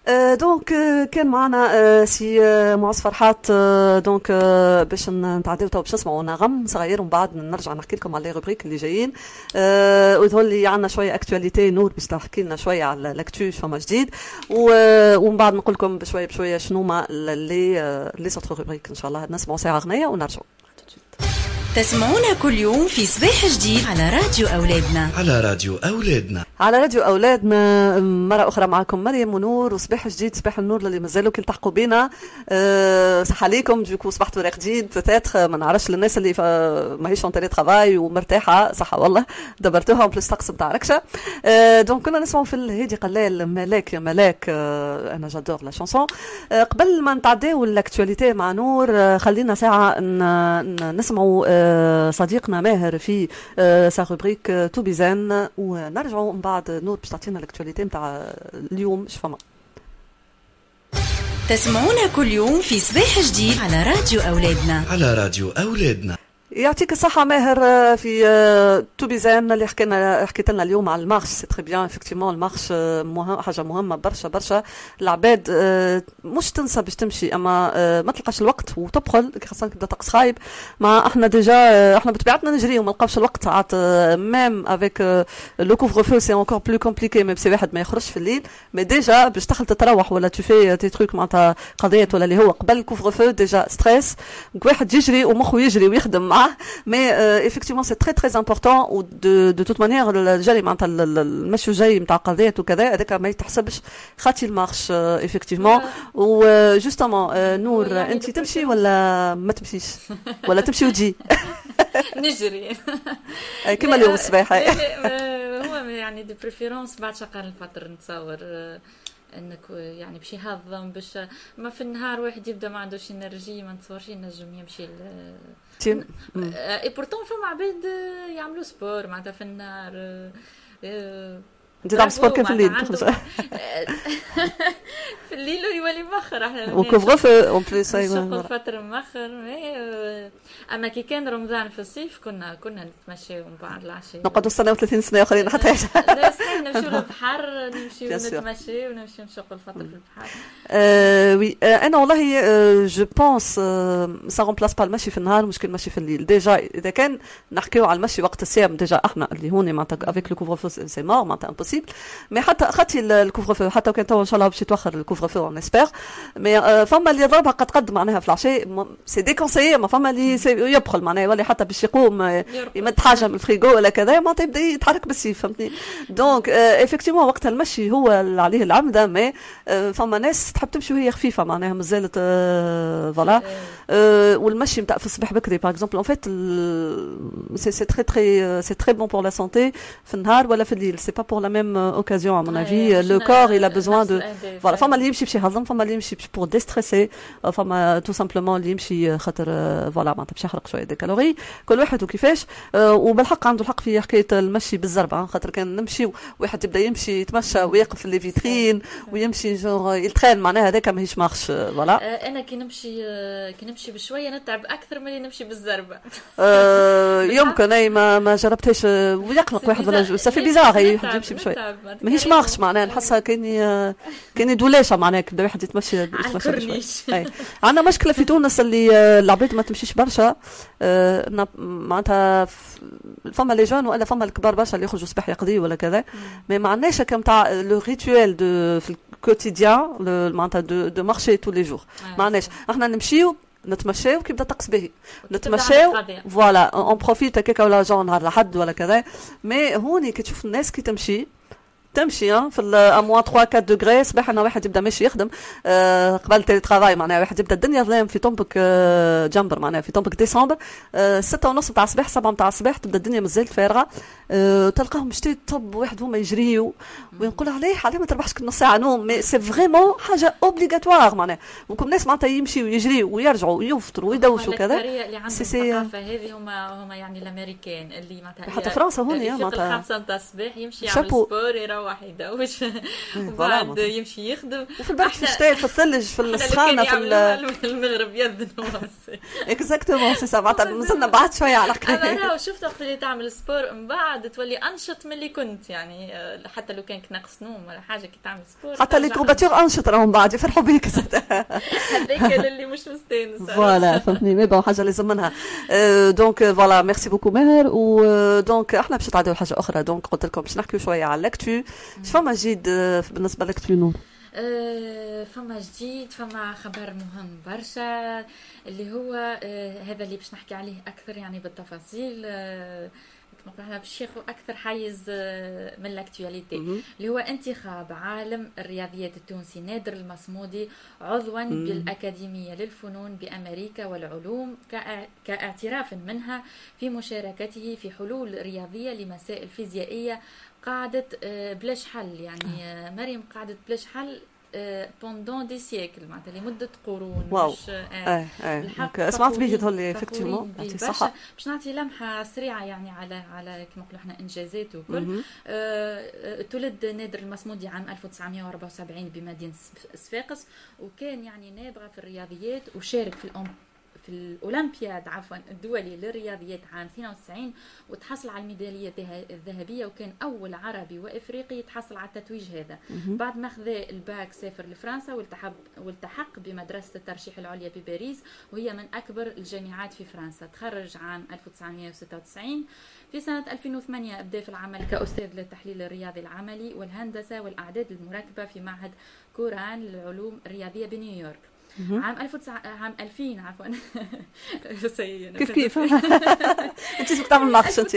دونك كان معنا سي معز فرحات دونك باش نتعداو تو باش نسمعوا نغم صغير ومن بعد نرجع نحكي لكم على لي روبريك اللي جايين وتقول لي عندنا شويه اكtualité نور باش تحكي لنا شويه على لاكتو فما جديد ومن بعد نقول لكم بشويه بشويه شنو هما لي سوتر روبريك ان شاء الله نسمعوا ساعه اغنيه ونرجعوا. تسمعونا كل يوم في صباح جديد على راديو أولادنا. على راديو أولادنا. على راديو أولادنا مرة أخرى معكم مريم ونور وصباح جديد صباح النور اللي مازالوا كي تلحقوا بينا. صح عليكم دوكو صبحتوا رايق جديد بتاتر ما نعرفش للناس اللي ماهيش اون تيلي ترافاي ومرتاحة صح والله دبرتوها بلس طقس نتاع ركشة. دونك كنا نسمعوا في الهادي قلال ملاك يا ملاك أنا جادور لا شانسون. قبل ما نتعداو الاكtualité مع نور خلينا ساعة نسمعوا صديقنا ماهر في سا روبريك تو بيزان ونرجعوا من بعد نور باش تعطينا الاكtualité نتاع اليوم اش فما. تسمعونا كل يوم في صباح جديد على راديو أولادنا. على راديو أولادنا. يعطيك الصحة ماهر في توبيزان اللي حكيت لنا اليوم على المارش سي تري بيان افكتيفمون المارش حاجة مهمة برشا العباد مش تنسى باش تمشي اما ما تلقاش الوقت وتبخل خاصة كيبدا طقس خايب مع احنا ديجا احنا بطبيعتنا نجري وما نلقاوش الوقت ساعات ميم افيك لو كوفر فو سي انكور بلو كومبليكي ميم سي واحد ما يخرجش في الليل مي ديجا باش تدخل تتروح ولا تفي تي تروك معناتها قضيات ولا اللي هو قبل الكوفر فو ديجا ستريس واحد يجري ومخه يجري ويخدم mais effectivement c'est très très important ou de toute manière الجري معناتها المشي جاي نتاع قضيات وكذا هذاك ما يتحسبش خاطي المارش effectivement و justement نور انت تمشي ولا ما تمشيش ولا تمشي وتجي نجري كما اليوم الصباح هو يعني دي بريفيرونس بعد شقال الفطر نتصور انك يعني باش يهضم باش ما في النهار واحد يبدا ما عندوش انرجي ما نتصورش ينجم يمشي اي بورتون فما عباد يعملوا سبور معناتها في النهار انت تعمل سبور كيف في الليل في الليل يولي مخر احنا وكوفر اون بليس نشوفوا الفتره مخر اما كي كان رمضان في الصيف كنا نتمشى من بعد العشاء نقعدوا سنه و30 سنه اخرين حتى نمشيو للبحر نمشيو نتمشى ونمشيو نشوفوا الفتره في البحر وي انا والله جو بونس سا رومبلاس با المشي في النهار مشكل المشي في الليل ديجا اذا كان نحكيو على المشي وقت الصيام ديجا احنا اللي هون معناتها افيك لو كوفر فو سي مور معناتها امبوسيبل مي حتى خاطي الكوفر فو حتى كان تو ان شاء الله باش يتوخر الكوفر فو اون اسبير مي فما اللي ضربها قد معناها في العشاء سي ديكونسيي ما فما اللي يبخل معناها يولي حتى باش يقوم يمد حاجه من الفريغو ولا كذا ما يبدا يتحرك بالسيف فهمتني دونك افكتيفمون وقت المشي هو اللي عليه العمده مي فما ناس تحب تمشي وهي خفيفه معناها مازالت فوالا والمشي نتاع في الصباح بكري باغ اكزومبل اون فيت سي تري بون بور لا سانتي في النهار ولا في الليل سي با بور لا ميم اوكازيون ا مون افي لو كور il a besoin de voilà فما اللي يمشي باش يهضم فما اللي يمشي بور ديستريسي فما تو سامبلومون اللي يمشي خاطر فوالا معناتها باش يحرق شويه دي كالوري كل واحد وكيفاش وبالحق عنده الحق في حكايه المشي بالزربه خاطر كان نمشي واحد يبدا يمشي يتمشى ويقف في لي فيترين ويمشي جور يلترين معناها هذاك ماهيش مارش فوالا انا كي نمشي بشويه نتعب اكثر من اللي نمشي بالزربه يمكن اي ما جربتهاش ويقلق واحد ولا صافي بيزار يمشي بشويه ماهيش مارش معناها نحسها كاين دولاشه معناها كي واحد يتمشى شويه عندنا مشكله في تونس اللي العباد ما تمشيش برشا معناتها فما لي جون ولا فما الكبار برشا اللي يخرجوا صباح يقضي ولا كذا مي ما عندناش كم تاع لو ريتوال دو في الكوتيديان معناتها دو مارشي تو لي جور ما عندناش احنا نمشيو نتمشاو كي بدا طقس باهي نتمشاو فوالا اون بروفيت هكاك ولا جون نهار لحد ولا كذا مي هوني كي تشوف الناس كي تمشي في الاموان 3 4 دوغري صباح انا واحد يبدا ماشي يخدم قبل تيلي ترافاي معناها واحد يبدا الدنيا ظلام في طنبك جنبر معناها في طنبك ديسمبر 6:30 تاع الصباح 7 تاع الصباح تبدا الدنيا مازالت فارغه تلقاهم مشتي طب واحد هما يجريوا وينقول عليه ما تربحش كل نص ساعه نوم مي سي فريمون حاجه اوبليغاتوار معناها وكم ناس معناتها يمشيوا ويجريوا ويرجعوا ويفطروا ويدوشوا كذا اللي عندهم الثقافه هذه هما يعني الامريكان اللي معناتها حتى فرنسا هون معناتها 5 تاع الصباح يمشي يعمل سبور يروح يدوش وبعد يمشي يخدم. وفي البرد في الشتاء في الثلج في السخانه في المغرب يذنوا. اكزاكتومون سي سا. مازلنا بعد شويه على حكايه. انا شفت وقت اللي تعمل سبور من بعد تولي انشط من اللي كنت يعني حتى لو كان ناقص نوم ولا حاجه كي تعمل سبور. حتى اللي تروباتور انشط راهم بعد يفرحوا بيك. هذاك اللي مش مستانس. فوالا فهمتني. مي بون حاجه لازم منها. دونك فوالا ميرسي بوكو ماهر. ودونك احنا باش نتعداو حاجه اخرى. دونك قلت لكم باش نحكيو شويه على لاكتو. فما جديد بالنسبه لاكتو نور؟ فما جديد، فما خبر مهم برشا اللي هو هذا اللي باش نحكي عليه اكثر يعني بالتفاصيل. كما باش ياخذ اكثر حيز من الاكتواليتي اللي هو انتخاب عالم الرياضيات التونسي نادر المصمودي عضوا بالاكاديميه للفنون بامريكا والعلوم كاعتراف منها في مشاركته في حلول رياضيه لمسائل فيزيائيه قعدت بلاش حل. يعني مريم قعدت بلاش حل pendant des siècles معناتها لمده قرون. واو. مش الحق سمعت به تقولي افكتيفمون يعطي الصحه. باش نعطي لمحه سريعه يعني على كما نقولوا احنا انجازاته وكل. تولد نادر المصمودي عام 1974 بمدينه صفاقس، وكان يعني نابغه في الرياضيات وشارك في الأولمبياد الدولي للرياضيات عام 92 وتحصل على الميدالية الذهبية، وكان أول عربي وإفريقي يتحصل على التتويج هذا. بعد ما أخذ الباك سافر لفرنسا والتحق بمدرسة الترشيح العليا بباريس، وهي من أكبر الجامعات في فرنسا. تخرج عام 1996. في سنة 2008 أبدأ في العمل كأستاذ للتحليل الرياضي العملي والهندسة والأعداد المركبة في معهد كوران للعلوم الرياضية بنيويورك. عام 2000 عفوا كيف انت شو بتعمل ناقش انت؟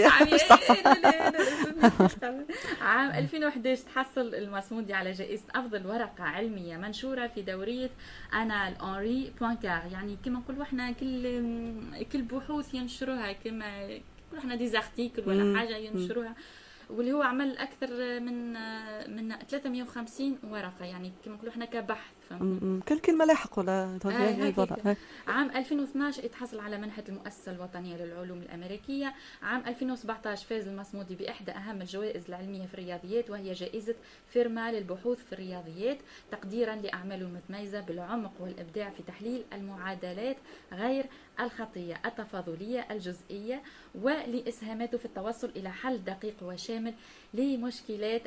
عام 2011 تحصل المصمودي على جائزة أفضل ورقة علمية منشورة في دورية أنا الأنري بوانكار. يعني كما نقولوا احنا كل بحوث ينشروها، كما نقولوا احنا ديزارتيكل ولا حاجة ينشروها، واللي هو عمل أكثر من 350 ورقة يعني كما نقولوا احنا كبحث. كل كلمة لاحق ولا عام 2012 اتحصل على منحة المؤسسة الوطنية للعلوم الأمريكية. عام 2017 فاز المصمودي بإحدى أهم الجوائز العلمية في الرياضيات، وهي جائزة فيرما للبحوث في الرياضيات، تقديرا لأعماله المتميزة بالعمق والإبداع في تحليل المعادلات غير الخطية التفاضلية الجزئية، ولإسهاماته في التوصل إلى حل دقيق وشامل لمشكلات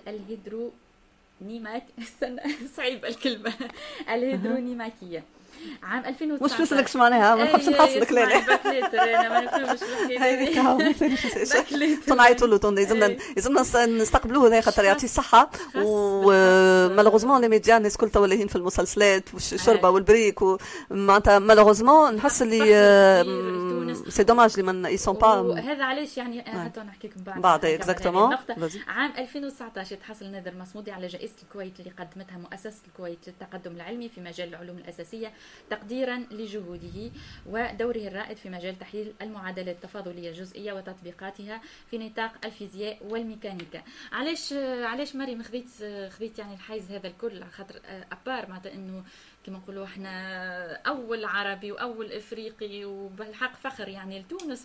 صعيب الكلمة الهيدرونيماكية. عام 2019 مش بس لك معناها ما نحبش نحصلك لا انا ما نفهمش الحكايه صنعيتوا له لازمنا نستقبلوه هذا خاطر يعطي الصحه. ومالوغوزمون لي ميديا الناس كل تولاهين في المسلسلات والشربه والبريك معناتها مالوغوزمون نحس اللي سي دوماج اللي ما يسون با. هذا علاش يعني حتى نحكي لكم بعد اكزاكتومون. عام 2019 تحصل نادر المصمودي على جائزة الكويت اللي قدمتها مؤسسة الكويت للتقدم العلمي في مجال العلوم الأساسية، تقديرا لجهوده ودوره الرائد في مجال تحليل المعادلات التفاضلية الجزئية وتطبيقاتها في نطاق الفيزياء والميكانيكا. علاش مريم خذيت يعني الحيز هذا الكل؟ خاطر ابار معناتها انه كما نقولوا احنا اول عربي واول افريقي وبالحق فخر يعني لتونس.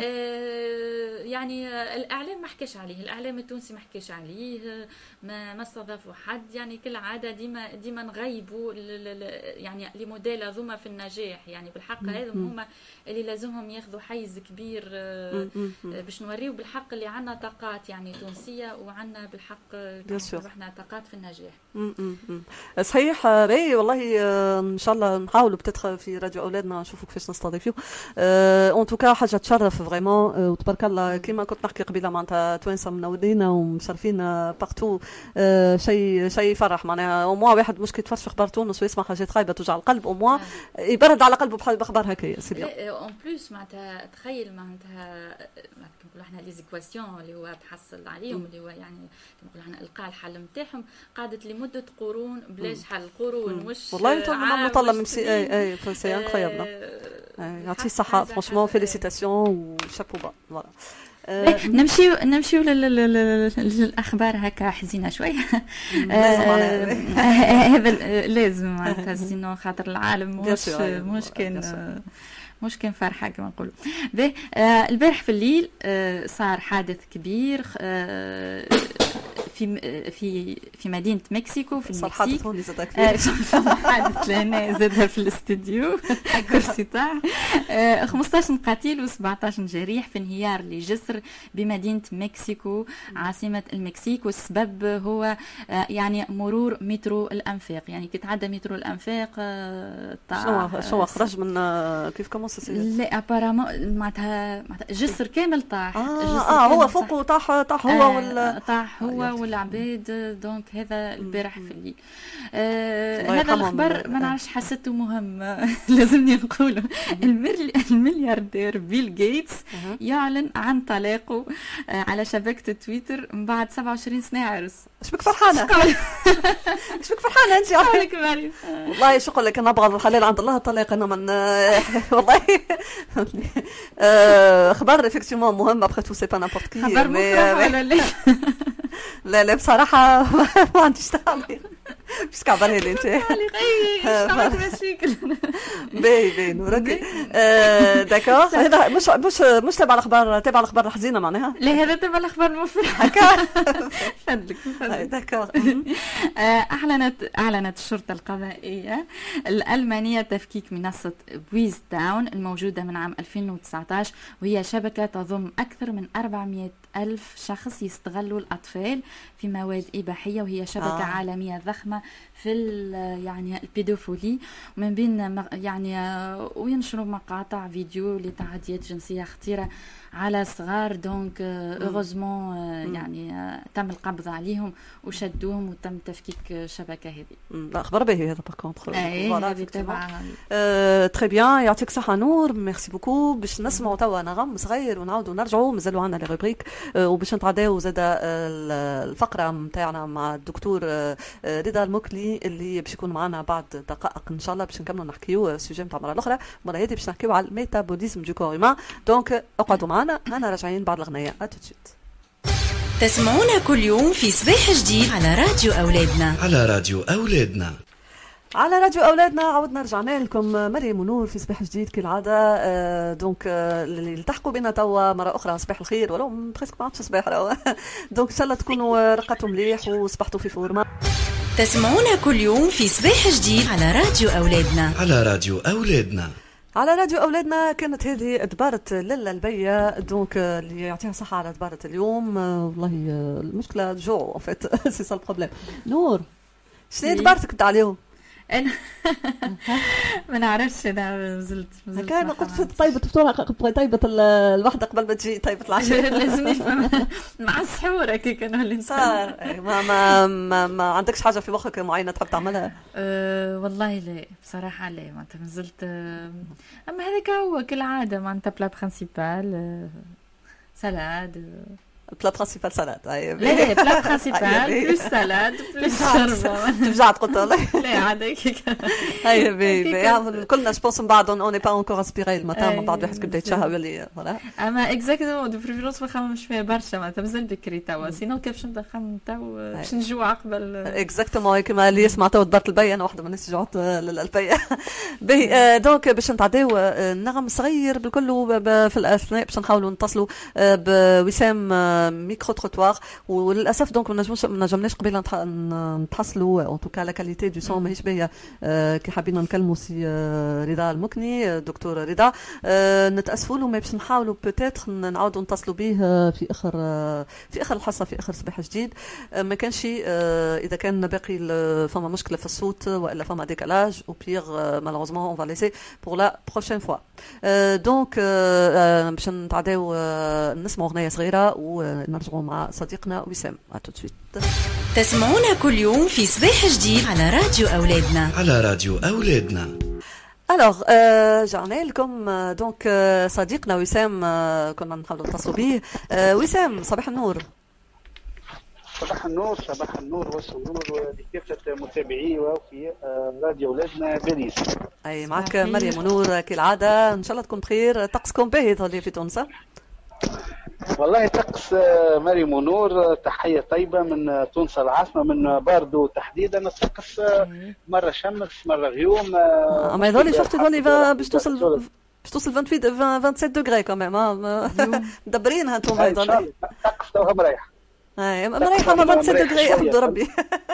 يعني الاعلام ما حكاش عليه، الاعلام التونسي ما حكاش عليه، ما استضافوا حد. يعني كل عاده ديما نغيبوا يعني لموديل ذوما في النجاح. يعني بالحق هذم هما اللي لازمهم ياخذوا حيز كبير باش نوريو بالحق اللي عندنا طاقات يعني تونسيه، وعندنا بالحق احنا طاقات في النجاح. صحيح راي والله. ان شاء الله نحاولوا بتدخل في راديو اولادنا نشوفوا كيفاش نستضيفوه. اون توكا حاجه تشرف فريمون وتبارك الله. كيما كنت نحكي قبيله معناتها توانسه منورين ومشرفين بارتو. شيء يفرح معناها. او موا واحد مش كيتفرج في اخبار تونس ويسمع حاجات خايبه توجع القلب، او موا يبرد على قلبه باخبار هكايا. سي بيان اون بليس معناتها تخيل معناتها كنقولوا احنا لي زيكواسيون اللي هو تحصل عليهم اللي هو يعني كنقولوا احنا القى الحل نتاعهم قعدت لمده قرون بلاش حل قرون مش والله ما طلع من اي فرنسي انكرويابل. يعطيه الصحه فرانشمون فيليسيتاسيون وشابو با. فوالا نمشيو للاخبار هكا حزينه شويه. هذا لازم معناتها سينو خاطر العالم مش كان فرحه كما نقولوا. البارح في الليل صار حادث كبير في مدينة مكسيكو في المكسيك. حادثوني زاد كثير. حادث لنا زادها في الاستديو كرسي تاع 15 قتيل و17 جريح في انهيار لجسر بمدينة مكسيكو عاصمة المكسيك، والسبب هو يعني مرور مترو الأنفاق. يعني كي تعدى مترو الأنفاق شنو خرج من كيف كومونسي؟ لا ابارامون معناتها جسر كامل طاح. هو فوق طاح هو طاح هو والعباد. دونك هذا البارح في الليل. هذا الخبر ما نعرفش حسيته مهم لازمني نقوله. الملياردير بيل جيتس يعلن عن طلاقه على شبكة تويتر من بعد 27 سنة عرس. اش بك فرحانة؟ اش بك فرحانة انت؟ عليك مريم. والله شو اقول لك، انا ابغى الحلال عند الله الطلاق. انا من والله خبر افكتيفمون مهم. ابخي تو سي با نابورت كي خبر مفرح ولا لا؟ لا بصراحة ما عنديش تعليق. مش كعبالي لي انت عملت مشاكل. باهي نورك. داكور. هذا مش تبع الاخبار الحزينه معناها. لا هذا تبع الاخبار المفرحه. هكا فدلك. داكور. اعلنت الشرطه القضائيه الالمانيه تفكيك منصه بويز داون الموجوده من عام 2019، وهي شبكه تضم اكثر من 400,000 شخص يستغلوا الأطفال في مواد إباحية، وهي شبكة عالمية ضخمة في يعني البيدوفولي، ومن بين يعني وينشروا مقاطع فيديو لتعديات جنسية خطيرة على صغار. دونك اوغوزمون يعني تم القبض عليهم وشدوهم وتم تفكيك شبكة هذه. اخبار باهي هذا باغ كونطخ. هذه تبع تري بيان. يعطيك الصحة نور. ميرسي بوكو. باش نسمعوا توا نغم صغير ونعاودوا نرجعوا. مازالوا عندنا لي روبريك وباش نتعداو زاد الفقرة نتاعنا مع الدكتور رضا المكلي اللي باش يكون معنا بعد دقائق ان شاء الله باش نكملوا نحكيو السوجي نتاع المرة الأخرى. المرة هذه باش نحكيو على الميتابوليزم دو كور هيومان. دونك اقعدوا معنا، انا راجعين بعد الغنية. اتوتشيت. تسمعونا كل يوم في صباح جديد على راديو أولادنا. على راديو أولادنا. على راديو أولادنا عودنا رجعنا لكم مريم ونور في صباح جديد كالعادة. دونك اللي التحقوا بنا توا مرة أخرى صباح الخير، ولو بريسك ما عادش صباح راهو. دونك إن شاء الله تكونوا رقدتوا مليح وصبحتوا في فورما. تسمعونا كل يوم في صباح جديد على راديو أولادنا. على راديو أولادنا. على راديو أولادنا. كانت هذه دبارة للا البية. دونك اللي يعطيها صحة على دبارة اليوم. والله المشكلة جو فات سي سا البروبليم. نور شنو دبارتك تاع اليوم؟ انا ما نعرفش. انا نزلت كان قلت في طيبه فطوره طيبه الوحده قبل ما تجي طيبه العشاء. لازم نفهم مع السحور هكاك كانوا اللي صار. ما عندكش حاجه في مخك معينه تحب تعملها؟ والله لا بصراحه لا. ما نزلت اما هذاك هو كالعاده معناتها بلا برينسيبال سالاد. بلا برينسيبال سالاد. لا بلا برينسيبال بلوس سالاد بلوس شوربه. رجعت قلت والله لا عاد هيك. هيا بي كلنا جوبونس من بعد اون با انكور اسبيري الماتان من بعد واحد كيبدا يتشهى باللي فوالا. اما اكزاكتومون دو بريفيرونس ما خممش فيها برشا معناتها مازال بكري توا. سينو كيف باش نبدا نخمم تو باش نجوع قبل. اكزاكتومون كيما اللي يسمع تو دبرت البي. انا واحده من الناس جوعت للبي. باهي دونك باش نتعداو نغم صغير بالكل في الاثناء باش نحاولوا نتصلوا بوسام ميكرو تروتوار. وللاسف دونك ما نجمناش قبيله نتحصلوا اون توكا لا كاليتي دو سون ماهيش باهيه. كي حابين نكلموا سي رضا المكني دكتور رضا نتاسفوا له. ما باش نحاولوا بوتيتر نعاودوا نتصلوا به في اخر الحصه في اخر صباح جديد. ما كانش اذا كان باقي فما مشكله في الصوت والا فما ديكالاج او بيغ مالوروزمون اون فا ليسي بور لا بروشين فوا. دونك باش نتعداو نسمعوا اغنيه صغيره ونرجعوا مع صديقنا وسام. تو سويت. تسمعونا كل يوم في صباح جديد على راديو أولادنا. على راديو أولادنا. الوغ جعنا لكم دونك صديقنا وسام كنا نحاولوا نتصلوا به. وسام صباح النور. صباح النور والسرور لكافة متابعي وفي راديو أولادنا باريس. أي معك مريم ونور كالعادة. إن شاء الله تكون بخير. طقسكم باهي في تونس؟ والله طقس مريم ونور تحية طيبة من تونس العاصمة من باردو تحديدا. الطقس مرة شمس مرة غيوم. أما يظهر شفت يظهر باش توصل 28 27 دوغري كمان. مدبرينها انتم. الطقس توها مريح. مريحه ما 27 دغري يحمد ربي.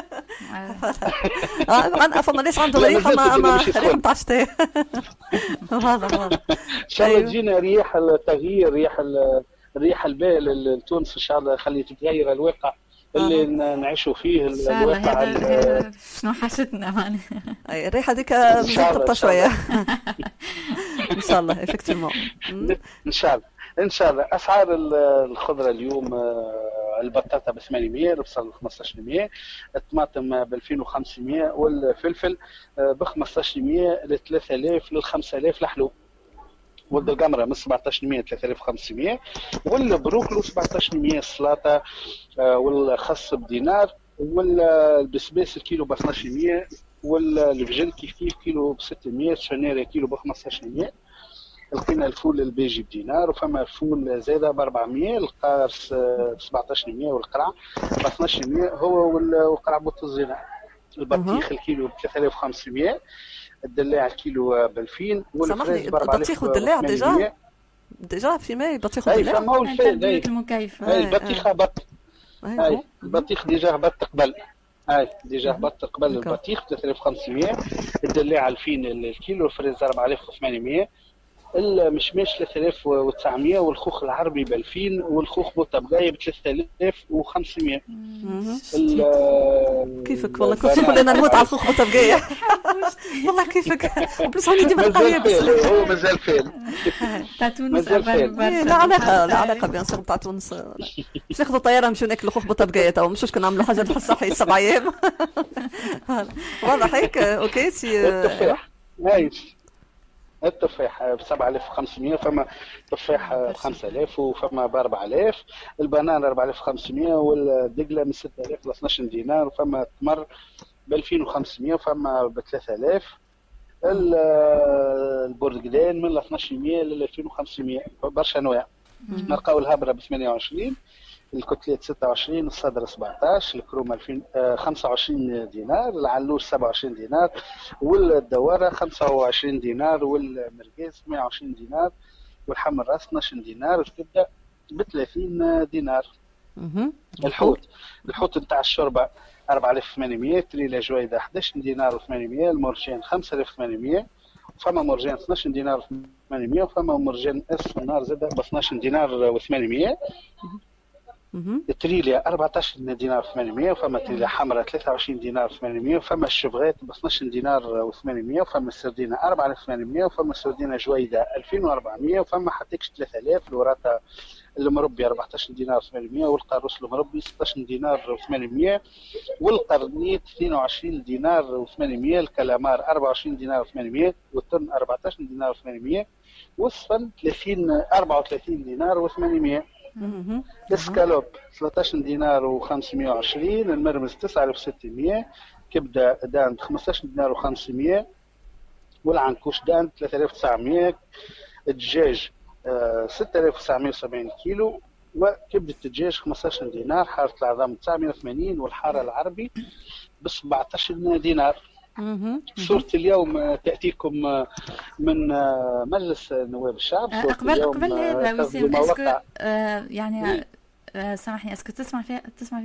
فما ناس عنده مريحه ما ريحه نتاع الشتاء. واضح ان شاء الله تجينا ريح التغيير، ريح البال لتونس ان شاء الله، خلي تتغير الواقع اللي نعيشوا فيه. الواقع شنو حاجتنا معناها الريحه هذيك تبطى شويه. ان شاء الله افكتيفمون ان شاء الله. اسعار الخضره اليوم البطاطا ب 800، البصل ب 1500، الطماطم ب 2500، والفلفل ب 1500 ل 3000 لل 5000 الحلو، والقمره من 1700 ل 3500، والبروكلو 1700، السلطه والخس بدينار، والبسباس الكيلو ب 1200، والفجل كيف كيلو ب 600، الشنيره كيلو ب 1500. لقينا الفول البيجي بدينار، وفما الفول زاده ب 400، القارص 1700، والقرع ب 1200 هو، والقرع بوط الزينه. البطيخ الكيلو ب 3500، الدلاع الكيلو ب 2000، والفريز ب 4000. البطيخ والدلاع ديجا في ماي البطيخ والدلاع. اي فما هو الفيل المكيفه. اي البطيخ هبط. اي البطيخ ديجا هبط قبل. ديجا هبط قبل البطيخ 3500، الدلاع 2000 الكيلو، الفريز 4800، المشماش 3900، والخوخ العربي ب 2000، والخوخ بوطبقايه ب 3500. كيفك والله كنت تقول انا نموت على الخوخ بوطبقايه. والله كيفك بلس هوني ديما تلقى يابس. هو مازال فين تاع تونس. لا علاقه بيان سور تاع تونس. باش ناخذوا طياره نمشيو ناكلوا خوخ بوطبقايه تو، مش كنا نعملوا حاجه صحيه 7 ايام. واضح هيك. اوكي سي التفاح ب 7500، فما تفاح ب 5000، وفما ب 4000، البنان 4500، والدقله من 6000 ل 12 دينار، وفما التمر ب 2500، وفما ب 3000، البرتقال من 1200 ل 2500. برشا انواع. نلقاو الهبره ب 28، الكتلات 26، الصدر 17، الكروم 25 دينار، العلوش 27 دينار، والدواره 25 دينار، والمرقاز 120 دينار، والحم الراس 12 دينار، الكبده ب 30 دينار. الحوت نتاع الشوربه 4800، تريلا جويده 11 دينار و800، المرجان 5800، فما مرجان 12 دينار و800، وفما مرجان اس النار زاده ب 12 دينار و800. التريليا 14 دينار و800، وفما تريليا حمراء 23 دينار و800، وفما الشبغات ب 12 دينار و800، وفما السردينه 4800، وفما السردينه جويده 2400، وفما حتىكش 3000، الوراطه المربي 14 دينار و800، والقاروس المربي 16 دينار و800، والقرنيت 22 دينار و800، الكلامار 24 دينار و800، والتن 14 دينار و800، والصفن 34 دينار و800. الاسكالوب 13 دينار و520، المرمز 9600، كبده داند 15 دينار و500، والعنكوش داند 3900، الدجاج 6970 كيلو، وكبده الدجاج 15 دينار، حاره العظام 980، والحاره العربي ب 17 دينار. صورة اليوم تأتيكم من مجلس نواب الشعب. قبل هذا وسيم اسكو يعني سامحني اسكو تسمع فيه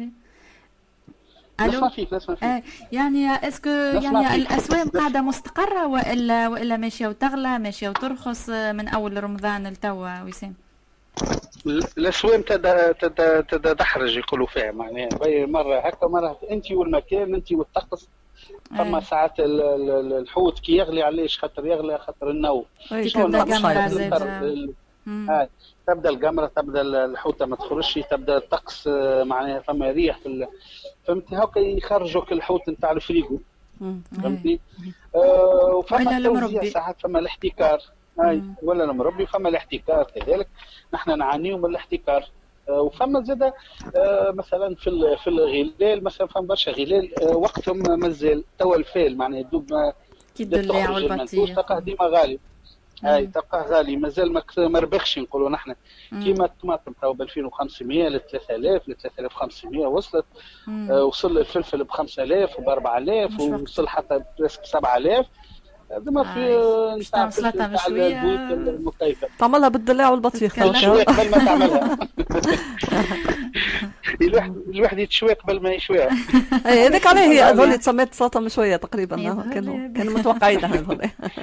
نسمع فيك يعني اسكو يعني الاسواق قاعده مستقره والا ماشيه وتغلى ماشيه وترخص من اول رمضان لتوا وسيم؟ الاسواق تدحرج يقولوا فيها، معناها مره هكا مره انت والمكان انت والطقس. فما ساعات الحوت كي يغلي علاش خاطر يغلي خاطر النو تبدا القمره زاد تبدا القمره تبدا الحوته ما تخرجش تبدا الطقس معناها فما ريح فهمتني هكا يخرجوك الحوت نتاع الفريغو فهمتني. وفما توزيع ساعات فما الاحتكار ولا المربي فما الاحتكار كذلك نحن نعانيو من الاحتكار. وفما زاد مثلا في الغلال مثلا فما برشا غلال وقتهم مازال توا الفيل معناها يدوب كي الدلاع والبطيخ تلقاه ديما غالي. تلقاه غالي مازال ما ربحش نقولوا نحن كيما الطماطم توا ب 2500 ل 3000 ل 3500 وصلت. وصل الفلفل ب 5000 وب 4000 ووصل حتى بريسك 7000. ديما في نتاع سلطه بشويه المكيفه تعملها بالدلاع والبطيخ شويه قبل ما تعملها. الواحد يتشوي قبل ما يشويها. هذاك علاه هي هذول تسميت سلطه مشويه تقريبا، كانوا متوقعين هذول.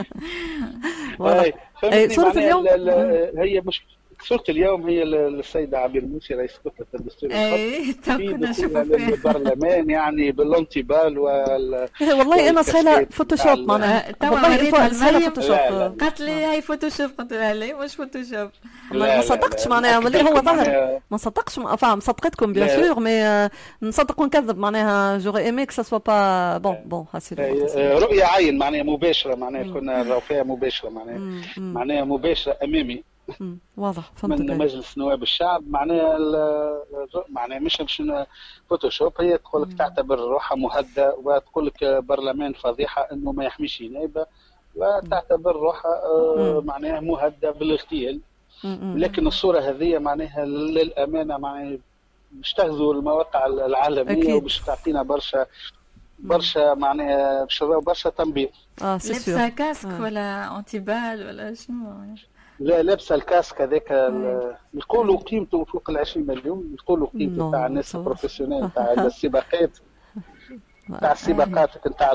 صورة اليوم هي مش صورة اليوم هي السيدة عبير موسي رئيس كتلة الدستور في البرلمان يعني بالانتبال والله انا سهله فوتوشوب معناها والله سهله فوتوشوب. قالت لي هاي فوتوشوب، قلت لها لا مش فوتوشوب. ما صدقتش معناها ملي هو ظهر ما صدقش مصدقتكم بيان سور مي نصدق ونكذب معناها جوغي ايمي كو سوا با بون هاسي رؤية عين معناها مباشرة معناها كنا نراو فيها مباشرة معناها مباشرة امامي واضح من مجلس نواب الشعب معناها مش فوتوشوب. هي تقول لك تعتبر روحها مهدأ وتقول لك برلمان فضيحة انه ما يحميش نائبة، وتعتبر روحها معناها مهدأ بالاغتيال. لكن الصورة هذه معناها للأمانة معناها باش تغزو المواقع العالمية وباش تعطينا برشا معناها برشا تنبيه. لابسة كاسك ولا انتبال ولا شنو؟ لا لابسه الكاسك هذاك يقولوا قيمته فوق 20 مليون، يقولوا قيمته تاع الناس البروفيسيونيل تاع السباقات تاع السباقات نتاع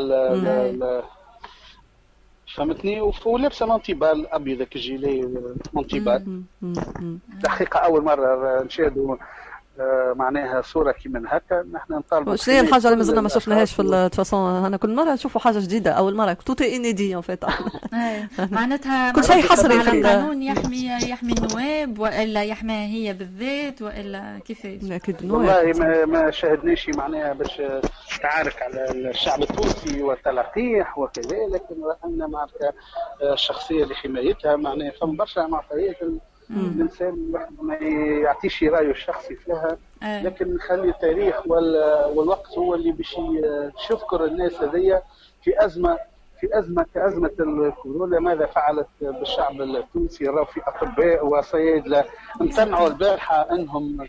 فهمتني. ولابسه مونتيبال ابيض كجيلي مونتيبال. دقيقه اول مره نشاهدوا معناها صوره كيما هكا. نحن نطالبوا شنو هي الحاجه اللي مازلنا ما شفناهاش في الفاصون؟ انا كل مره نشوفوا حاجه جديده اول مره توت انيدي فيت. معناتها كل شيء حصري في القانون يحمي النواب والا يحميها هي بالذات والا كيفاش؟ اكيد والله ما شاهدناش معناها باش تعارك على الشعب التونسي وتلقيح وكذا، لكن رانا معناتها الشخصيه لحمايتها معناها فما برشا معطيات الانسان ما يعطيش رايه الشخصي فيها، لكن نخلي التاريخ والوقت هو اللي باش يذكر الناس هذيا في ازمه كازمه الكورونا. ماذا فعلت بالشعب التونسي؟ راهو في اطباء وصيادله امتنعوا البارحه انهم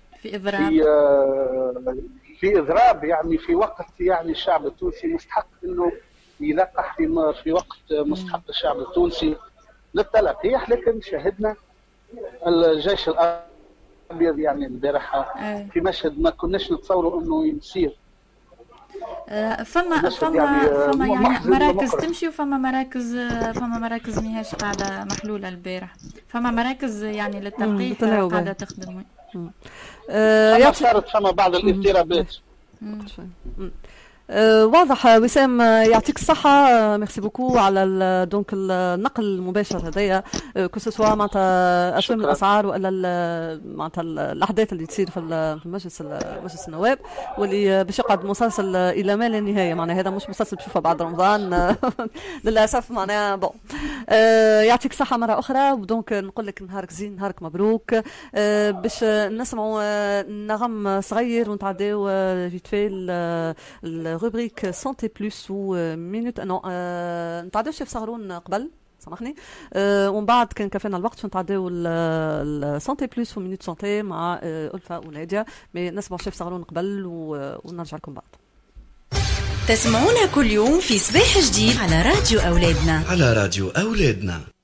في اضراب يعني في وقت يعني الشعب التونسي مستحق انه يلقح في وقت مستحق الشعب التونسي للتلقيح. لكن شاهدنا الجيش الابيض يعني البارحه في مشهد ما كناش نتصوروا انه يصير. فما يعني مراكز تمشي وفما مراكز ماهيش قاعده محلوله البارح. فما مراكز يعني للتلقيح قاعده تخدم. صارت فما بعض الاضطرابات. واضح. وسام يعطيك الصحة، ميرسي بوكو على دونك النقل المباشر هذايا كو سوا معناتها أسهم الأسعار ولا معناتها الأحداث اللي تصير في مجلس النواب، واللي باش يقعد مسلسل إلى ما لا نهاية. معناها هذا مش مسلسل بشوفه بعد رمضان للأسف. معناها بون يعطيك الصحة مرة أخرى، ودونك نقول لك نهارك زين، نهارك مبروك. باش نسمعوا نغم صغير ونتعداو فيت في rubrique santé plus ou minute نتعداوش في صغرون قبل سامحني، ومن بعد كان كفانا الوقت نتعداو السانتي بلوس ومينوت سانتي مع ألفا ونادية. مي نسمعوا شيف صغرون قبل ونرجع لكم بعد. تسمعونا كل يوم في صباح جديد على راديو أولادنا. على راديو أولادنا.